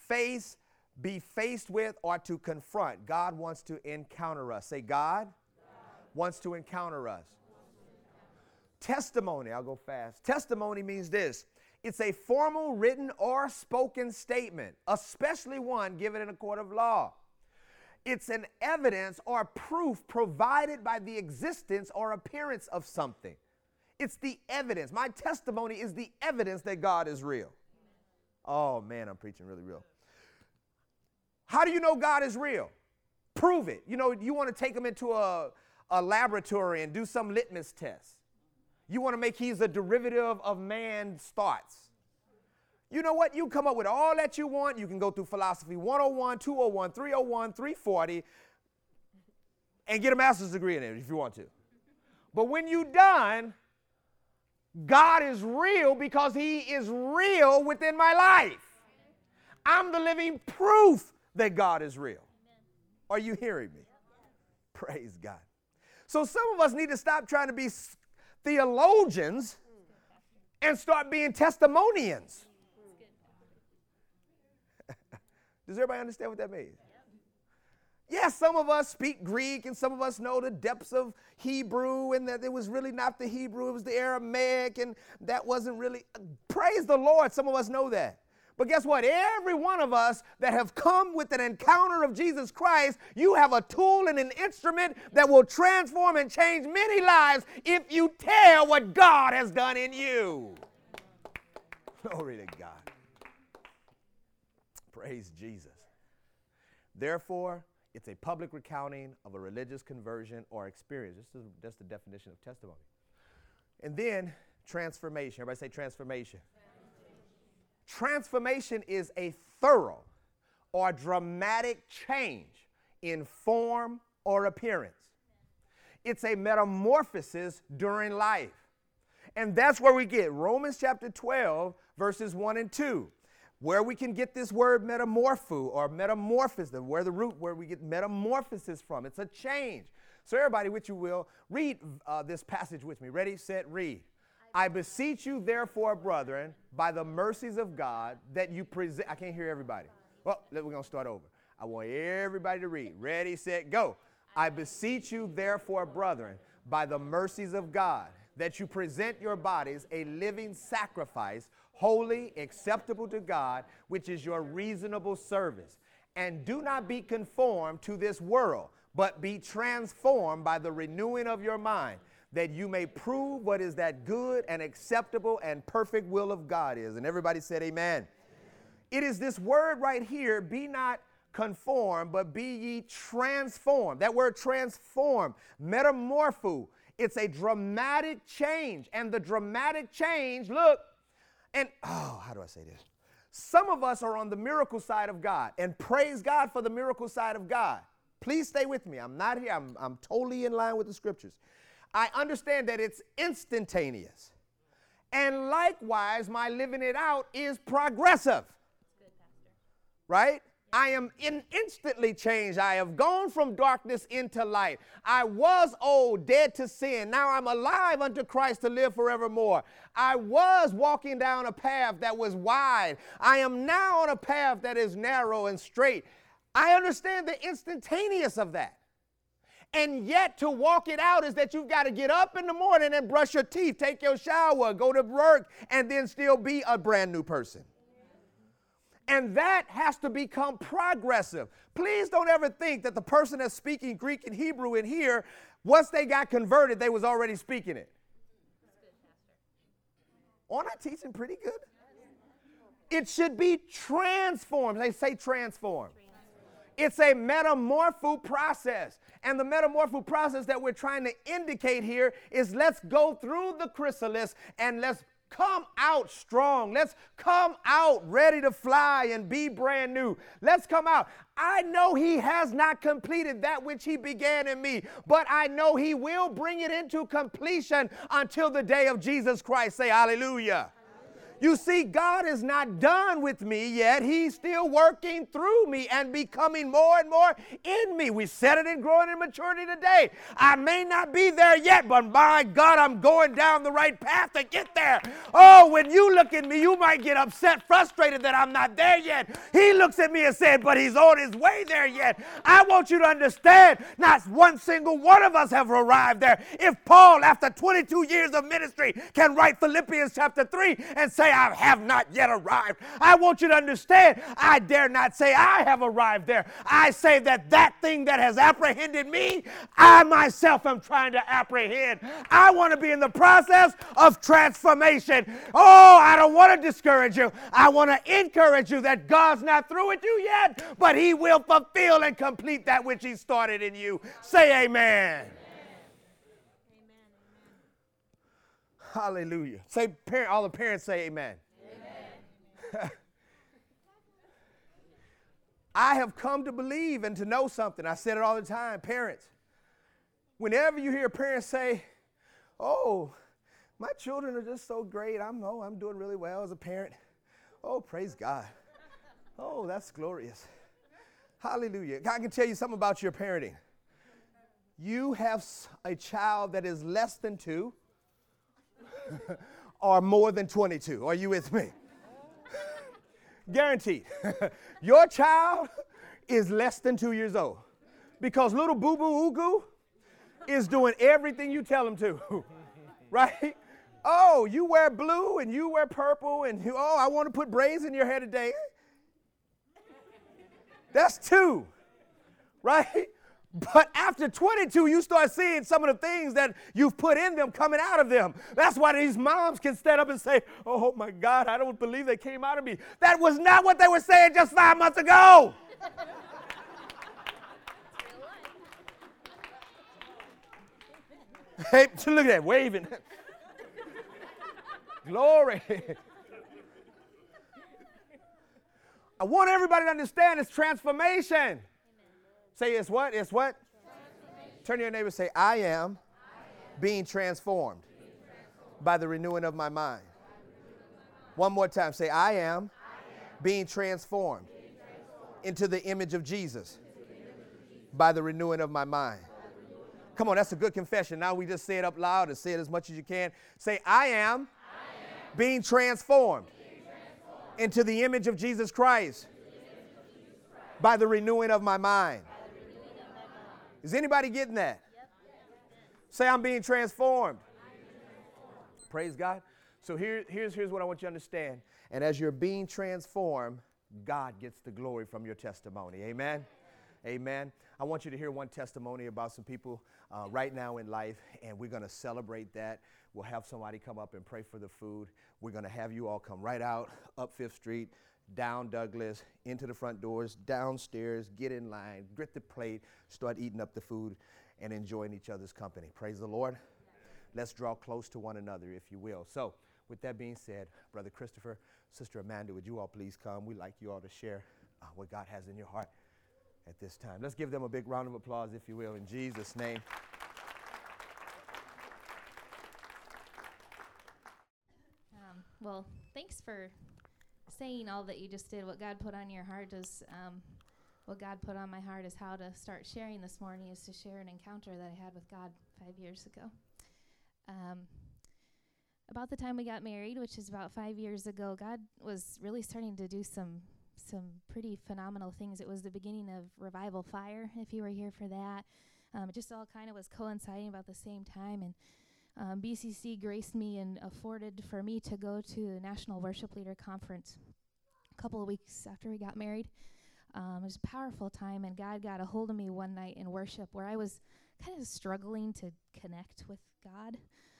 be faced with, or to confront. God wants to encounter us. Say, God wants to encounter us. Testimony, I'll go fast. Testimony means this. It's a formal written or spoken statement, especially one given in a court of law. It's an evidence or proof provided by the existence or appearance of something. It's the evidence. My testimony is the evidence that God is real. Oh, man, I'm preaching really real. How do you know God is real? Prove it. You know, you want to take him into a laboratory and do some litmus test. You want to make he's a derivative of man's thoughts. You know what? You come up with all that you want. You can go through Philosophy 101, 201, 301, 340, and get a master's degree in it if you want to. But when you're done, God is real because he is real within my life. I'm the living proof that God is real. Are you hearing me? Praise God. So some of us need to stop trying to be theologians and start being testimonians. Does everybody understand what that means? Yes, some of us speak Greek and some of us know the depths of Hebrew and that it was really not the Hebrew, it was the Aramaic and that wasn't really, praise the Lord, some of us know that. But guess what? Every one of us that have come with an encounter of Jesus Christ, you have a tool and an instrument that will transform and change many lives if you tell what God has done in you. Glory to God. Praise Jesus. Therefore, it's a public recounting of a religious conversion or experience. That's the definition of testimony. And then transformation. Everybody say transformation. Transformation is a thorough or dramatic change in form or appearance. It's a metamorphosis during life. And that's where we get Romans chapter 12, verses 1 and 2. Where we can get this word metamorpho or metamorphosis, where the root where we get metamorphosis from. It's a change. So everybody, which you will, read this passage with me. Ready, set, read. I beseech you, therefore, brethren, by the mercies of God, that you present. I can't hear everybody. Well, we're going to start over. I want everybody to read. Ready, set, go. I beseech you, therefore, brethren, by the mercies of God, that you present your bodies a living sacrifice, holy, acceptable to God, which is your reasonable service. And do not be conformed to this world, but be transformed by the renewing of your mind, that you may prove what is that good and acceptable and perfect will of God is. And everybody said amen. It is this word right here, be not conformed, but be ye transformed. That word transform, metamorpho, it's a dramatic change. And the dramatic change, look, And, how do I say this? Some of us are on the miracle side of God, and praise God for the miracle side of God. Please stay with me. I'm not here. I'm totally in line with the scriptures. I understand that it's instantaneous. And likewise, my living it out is progressive. Good, Pastor. Right? I am instantly changed. I have gone from darkness into light. I was old, dead to sin. Now I'm alive unto Christ to live forevermore. I was walking down a path that was wide. I am now on a path that is narrow and straight. I understand the instantaneous of that. And yet to walk it out is that you've got to get up in the morning and brush your teeth, take your shower, go to work, and then still be a brand new person. And that has to become progressive. Please don't ever think that the person that's speaking Greek and Hebrew in here, once they got converted, they was already speaking it. Aren't I teaching pretty good? It should be transformed. They say transformed. It's a metamorpho process. And the metamorpho process that we're trying to indicate here is let's go through the chrysalis and let's come out strong. Let's come out ready to fly and be brand new. Let's come out. I know he has not completed that which he began in me, but I know he will bring it into completion until the day of Jesus Christ. Say hallelujah. You see, God is not done with me yet. He's still working through me and becoming more and more in me. We said it in Growing in Maturity today. I may not be there yet, but my God, I'm going down the right path to get there. Oh, when you look at me, you might get upset, frustrated that I'm not there yet. He looks at me and said, but he's on his way there yet. I want you to understand, not one single one of us have arrived there. If Paul, after 22 years of ministry, can write Philippians chapter 3 and say, I have not yet arrived. I want you to understand, I dare not say I have arrived there. I say that thing that has apprehended me, I myself am trying to apprehend. I want to be in the process of transformation. Oh, I don't want to discourage you. I want to encourage you that God's not through with you yet, but he will fulfill and complete that which he started in you. Say amen. Hallelujah. Say, all the parents say amen. Amen. I have come to believe and to know something. I said it all the time. Parents, whenever you hear parents say, oh, my children are just so great. I'm doing really well as a parent. Oh, praise God. Oh, that's glorious. Hallelujah. God can tell you something about your parenting. You have a child that is less than 2 or more than 22. Are you with me? Guaranteed. Your child is less than 2 years old because little boo-boo Ugu is doing everything you tell him to, right? Oh, you wear blue and you wear purple and I want to put braids in your hair today. That's 2, right? But after 22, you start seeing some of the things that you've put in them coming out of them. That's why these moms can stand up and say, oh my God, I don't believe they came out of me. That was not what they were saying just 5 months ago. Hey, look at that, waving. Glory. I want everybody to understand it's transformation. Say it's what? It's what? Turn to your neighbor and say, I am being transformed by the renewing of my mind. One more time. Say, I am being transformed into the image of Jesus by the renewing of my mind. Come on, that's a good confession. Now we just say it up loud and say it as much as you can. Say, I am being transformed into the image of Jesus Christ by the renewing of my mind. Is anybody getting that? Yep. Say, I'm being transformed. Praise God. So here's what I want you to understand. And as you're being transformed, God gets the glory from your testimony. Amen? Amen. I want you to hear one testimony about some people right now in life, and we're going to celebrate that. We'll have somebody come up and pray for the food. We're going to have you all come right out, up 5th Street, down Douglas, into the front doors, downstairs, get in line, get the plate, start eating up the food and enjoying each other's company. Praise the Lord. Let's draw close to one another, if you will. So With that being said, Brother Christopher, Sister Amanda, would you all please come? We'd like you all to share what God has in your heart at this time. Let's give them a big round of applause, if you will, in Jesus' name. Well, thanks for saying all that you just did. What God put on your heart is, what God put on my heart is how to start sharing this morning, is to share an encounter that I had with God 5 years ago. About the time we got married, which is about 5 years ago, God was really starting to do some pretty phenomenal things. It was the beginning of Revival Fire, if you were here for that. It just all kind of was coinciding about the same time, and BCC graced me and afforded for me to go to the National Worship Leader Conference a couple of weeks after we got married. It was a powerful time, and God got a hold of me one night in worship where I was kind of struggling to connect with God.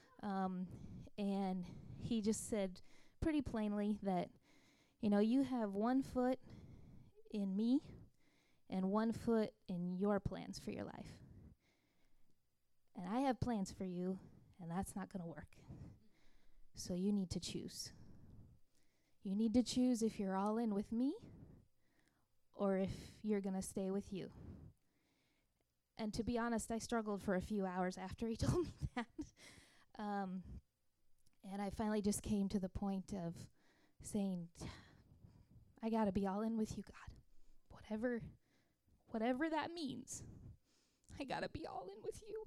And he just said pretty plainly that, you have 1 foot in me and 1 foot in your plans for your life. And I have plans for you, and that's not going to work. So you need to choose. You need to choose if you're all in with me or if you're going to stay with you. And to be honest, I struggled for a few hours after he told me that. And I finally just came to the point of saying, I got to be all in with you, God. Whatever that means, I got to be all in with you.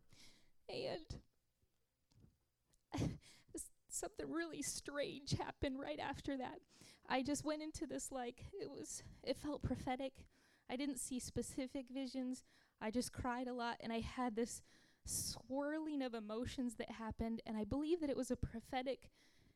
And something really strange happened right after that. I just went into this it felt prophetic. I didn't see specific visions. I just cried a lot, and I had this swirling of emotions that happened, and I believe that it was a prophetic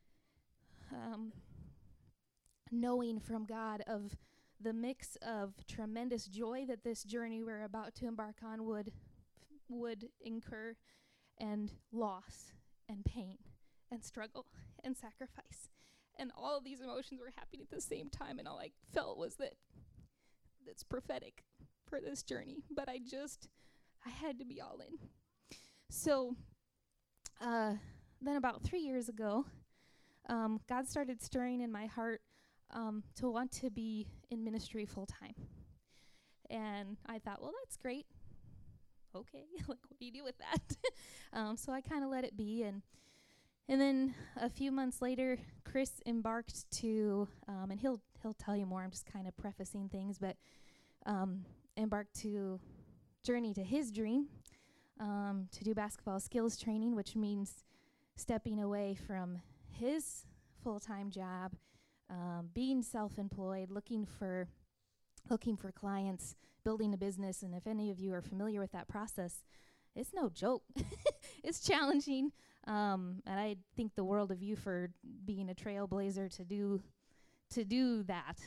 knowing from God of the mix of tremendous joy that this journey we're about to embark on would incur, and loss and pain and struggle and sacrifice. And all of these emotions were happening at the same time, and all I felt was that it's prophetic for this journey. But I had to be all in. So then about 3 years ago, God started stirring in my heart to want to be in ministry full time. And I thought, well, that's great. Okay, what do you do with that? So I kind of let it be. And then a few months later, Chris embarked to, and he'll tell you more, I'm just kind of prefacing things, but embarked to journey to his dream, to do basketball skills training, which means stepping away from his full-time job, being self-employed, looking for clients, building a business. And if any of you are familiar with that process, it's no joke. It's challenging. And I think the world of you for being a trailblazer to do that.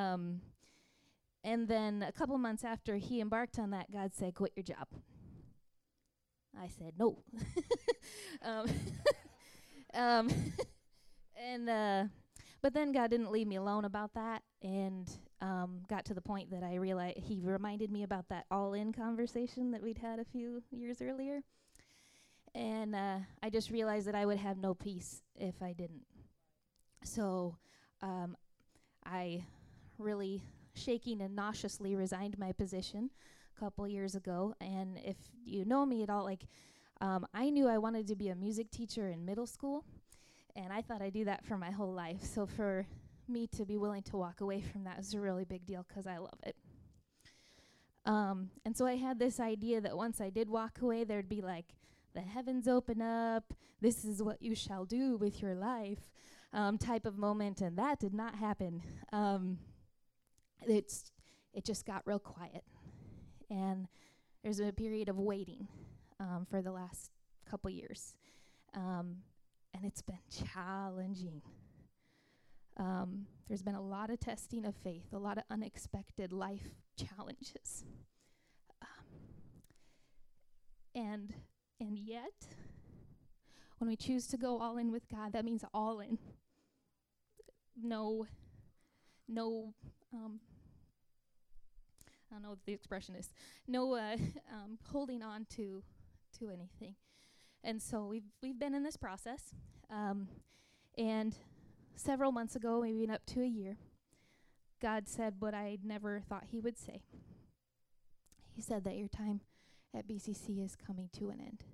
And then a couple months after he embarked on that, God said, quit your job. I said, no. But then God didn't leave me alone about that, and got to the point that I realized he reminded me about that all-in conversation that we'd had a few years earlier. And I just realized that I would have no peace if I didn't. So I really shaking and nauseously resigned my position a couple years ago. And if you know me at all, I knew I wanted to be a music teacher in middle school, and I thought I'd do that for my whole life. So for me to be willing to walk away from that was a really big deal because I love it. And so I had this idea that once I did walk away, there'd be the heavens open up, this is what you shall do with your life type of moment, and that did not happen. It just got real quiet. And there's a period of waiting for the last couple years. And it's been challenging. There's been a lot of testing of faith, a lot of unexpected life challenges. And yet, when we choose to go all in with God, that means all in. No, I don't know what the expression is. No holding on to anything. And so we've been in this process, And several months ago, maybe up to a year, God said what I never thought he would say. He said that your time at BCC is coming to an end.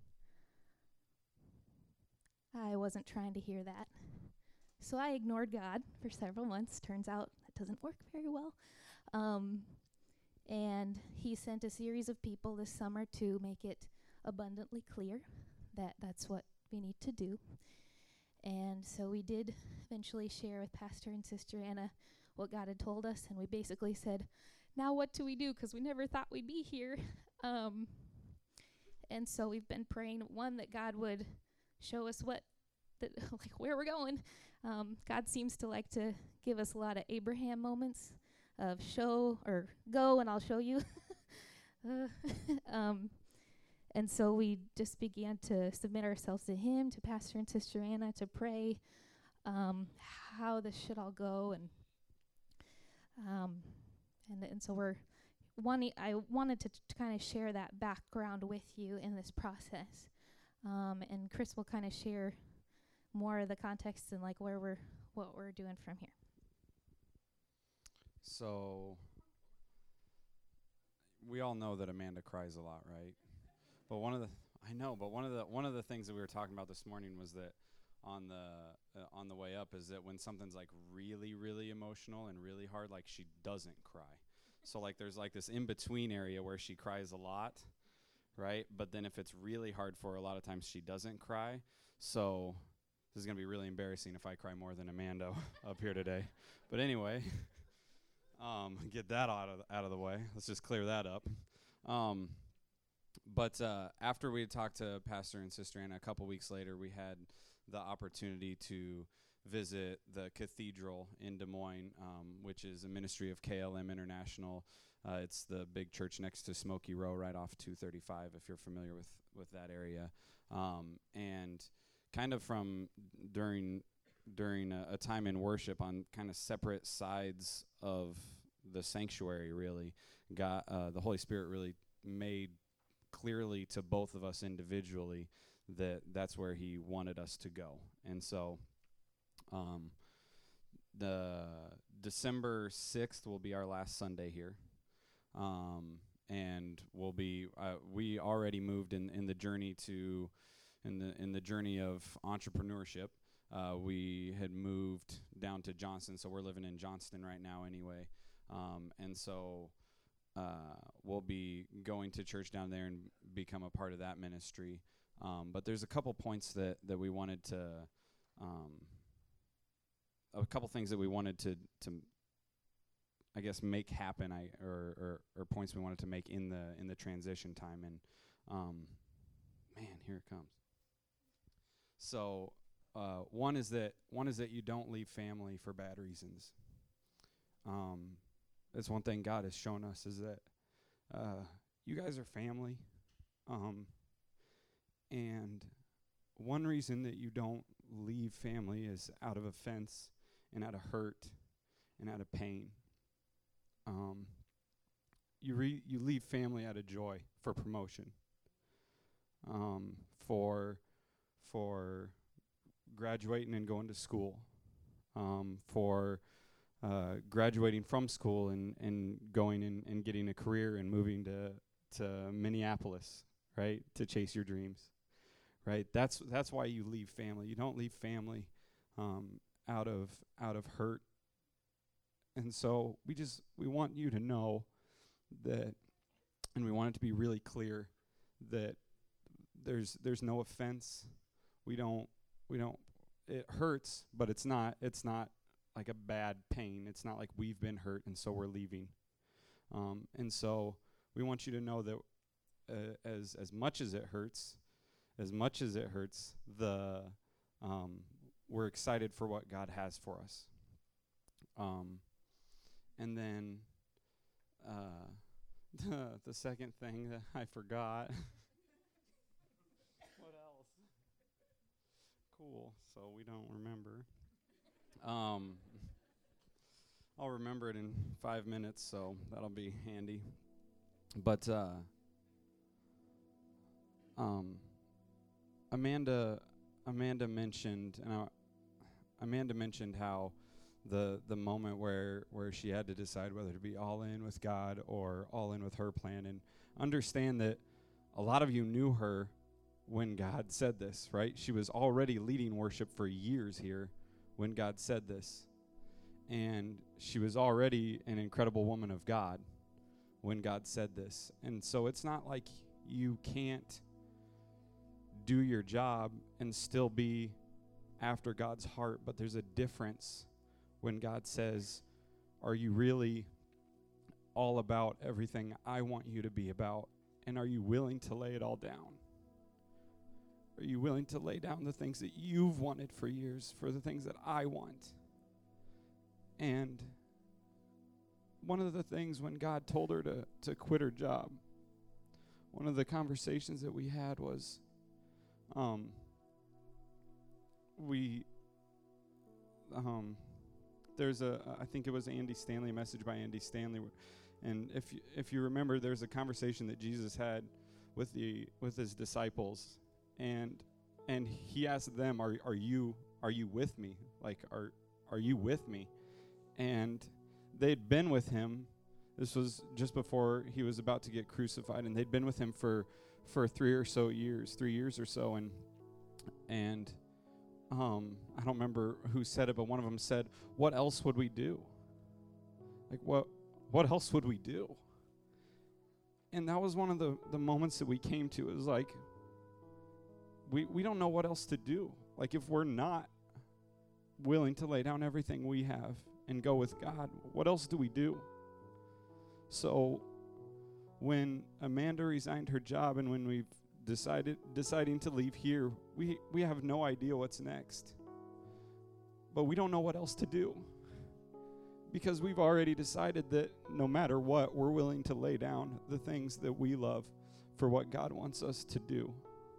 I wasn't trying to hear that. So I ignored God for several months. Turns out that doesn't work very well. And he sent a series of people this summer to make it abundantly clear that that's what we need to do. And so we did eventually share with Pastor and Sister Anna what God had told us, and we basically said, now what do we do? Because we never thought we'd be here. And so we've been praying, one, that God would show us like where we're going. God seems to like to give us a lot of Abraham moments of show or go and I'll show you. And so we just began to submit ourselves to him, to Pastor and Sister Anna, to pray how this should all go. And so I wanted to kind of share that background with you in this process. And Chris will kind of share more of the context and like what we're doing from here. So we all know that Amanda cries a lot, right? But one of the things that we were talking about this morning was that on the way up is that when something's like really, really emotional and really hard, like she doesn't cry. So like there's like this in-between area where she cries a lot, right? But then if it's really hard for her, a lot of times she doesn't cry. So this is going to be really embarrassing if I cry more than Amanda up here today. But anyway, get that out of the way. Let's just clear that up. But after we talked to Pastor and Sister Anna, a couple weeks later, we had the opportunity to visit the cathedral in Des Moines, which is a ministry of KLM International. It's the big church next to Smoky Row, right off 235, if you're familiar with that area. And kind of from during a time in worship on kind of separate sides of the sanctuary, really, God, the Holy Spirit really made clearly to both of us individually that's where he wanted us to go. And so the December 6th will be our last Sunday here. And we'll be we already moved in the journey in the journey of entrepreneurship. We had moved down to Johnston, so we're living in Johnston right now anyway. And so we'll be going to church down there and become a part of that ministry. But there's a couple points that we wanted to, a couple things that we wanted to I guess make happen, or points we wanted to make in the transition time. And man, here it comes. So one is that you don't leave family for bad reasons. That's one thing God has shown us, is that you guys are family. And one reason that you don't leave family is out of offense and out of hurt and out of pain. You leave family out of joy, for promotion, for graduating and going to school, for graduating from school and going and getting a career and moving to Minneapolis, right, to chase your dreams, right? That's why you leave family. You don't leave family out of hurt. And so we want you to know that, and we want it to be really clear that there's no offense. We don't. It hurts, but it's not like a bad pain. It's not like we've been hurt and so we're leaving. And so we want you to know that as much as it hurts, we're excited for what God has for us. And then the second thing that I forgot. What else? Cool. So we don't remember. I'll remember it in 5 minutes, so that'll be handy. But Amanda mentioned, and Amanda mentioned how the moment where she had to decide whether to be all in with God or all in with her plan, and understand that a lot of you knew her when God said this, right? She was already leading worship for years here when God said this, and she was already an incredible woman of God when God said this. And so it's not like you can't do your job and still be after God's heart, but there's a difference when God says, are you really all about everything I want you to be about? And are you willing to lay it all down? Are you willing to lay down the things that you've wanted for years for the things that I want? And one of the things when God told her to quit her job, one of the conversations that we had was, there's I think it was Andy Stanley, a message by Andy Stanley, and if you remember, there's a conversation that Jesus had with his disciples, and he asked them, are you with me? Like, are you with me? And they'd been with him. This was just before he was about to get crucified, and they'd been with him for 3 years or so, and I don't remember who said it, but one of them said, what else would we do? Like, what else would we do? And that was one of the moments that we came to. It was like, we don't know what else to do. Like, if we're not willing to lay down everything we have and go with God, what else do we do? So when Amanda resigned her job and when we've deciding to leave here, we have no idea what's next. But we don't know what else to do, because we've already decided that no matter what, we're willing to lay down the things that we love for what God wants us to do.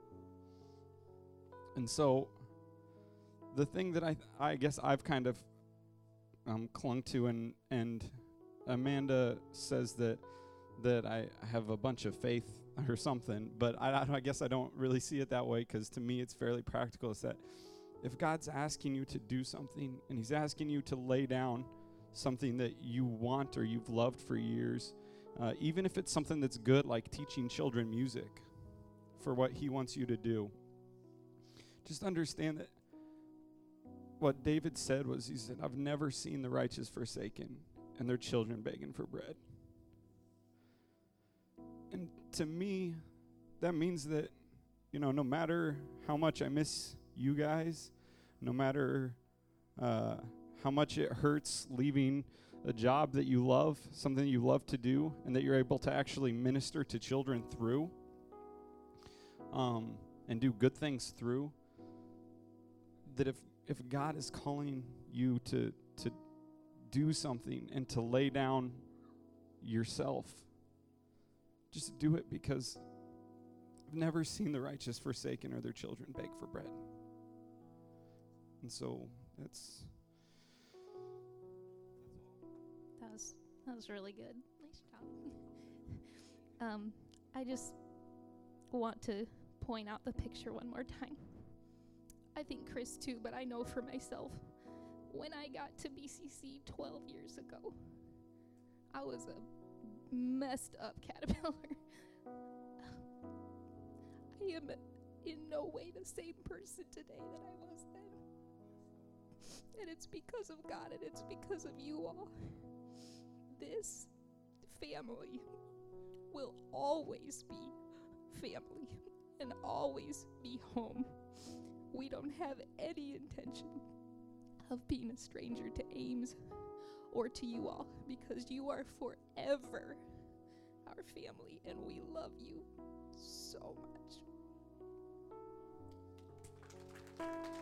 And so the thing that I guess I've kind of clung to, and Amanda says that I have a bunch of faith or something, but I guess I don't really see it that way, because to me it's fairly practical. It's that if God's asking you to do something, and he's asking you to lay down something that you want or you've loved for years, even if it's something that's good, like teaching children music for what he wants you to do, just understand that what David said was, he said, I've never seen the righteous forsaken and their children begging for bread. And to me, that means that, no matter how much I miss you guys, no matter how much it hurts leaving a job that you love, something you love to do, and that you're able to actually minister to children through, and do good things through, that if God is calling you to do something and to lay down yourself, just do it, because I've never seen the righteous forsaken or their children beg for bread. And so that was really good. Nice job. I just want to point out the picture one more time. I think Chris too, but I know for myself, when I got to BCC 12 years ago, I was a messed up caterpillar. I am in no way the same person today that I was then. And it's because of God, and it's because of you all. This family will always be family and always be home. We don't have any intention of being a stranger to Ames or to you all, because you are forever our family, and we love you so much.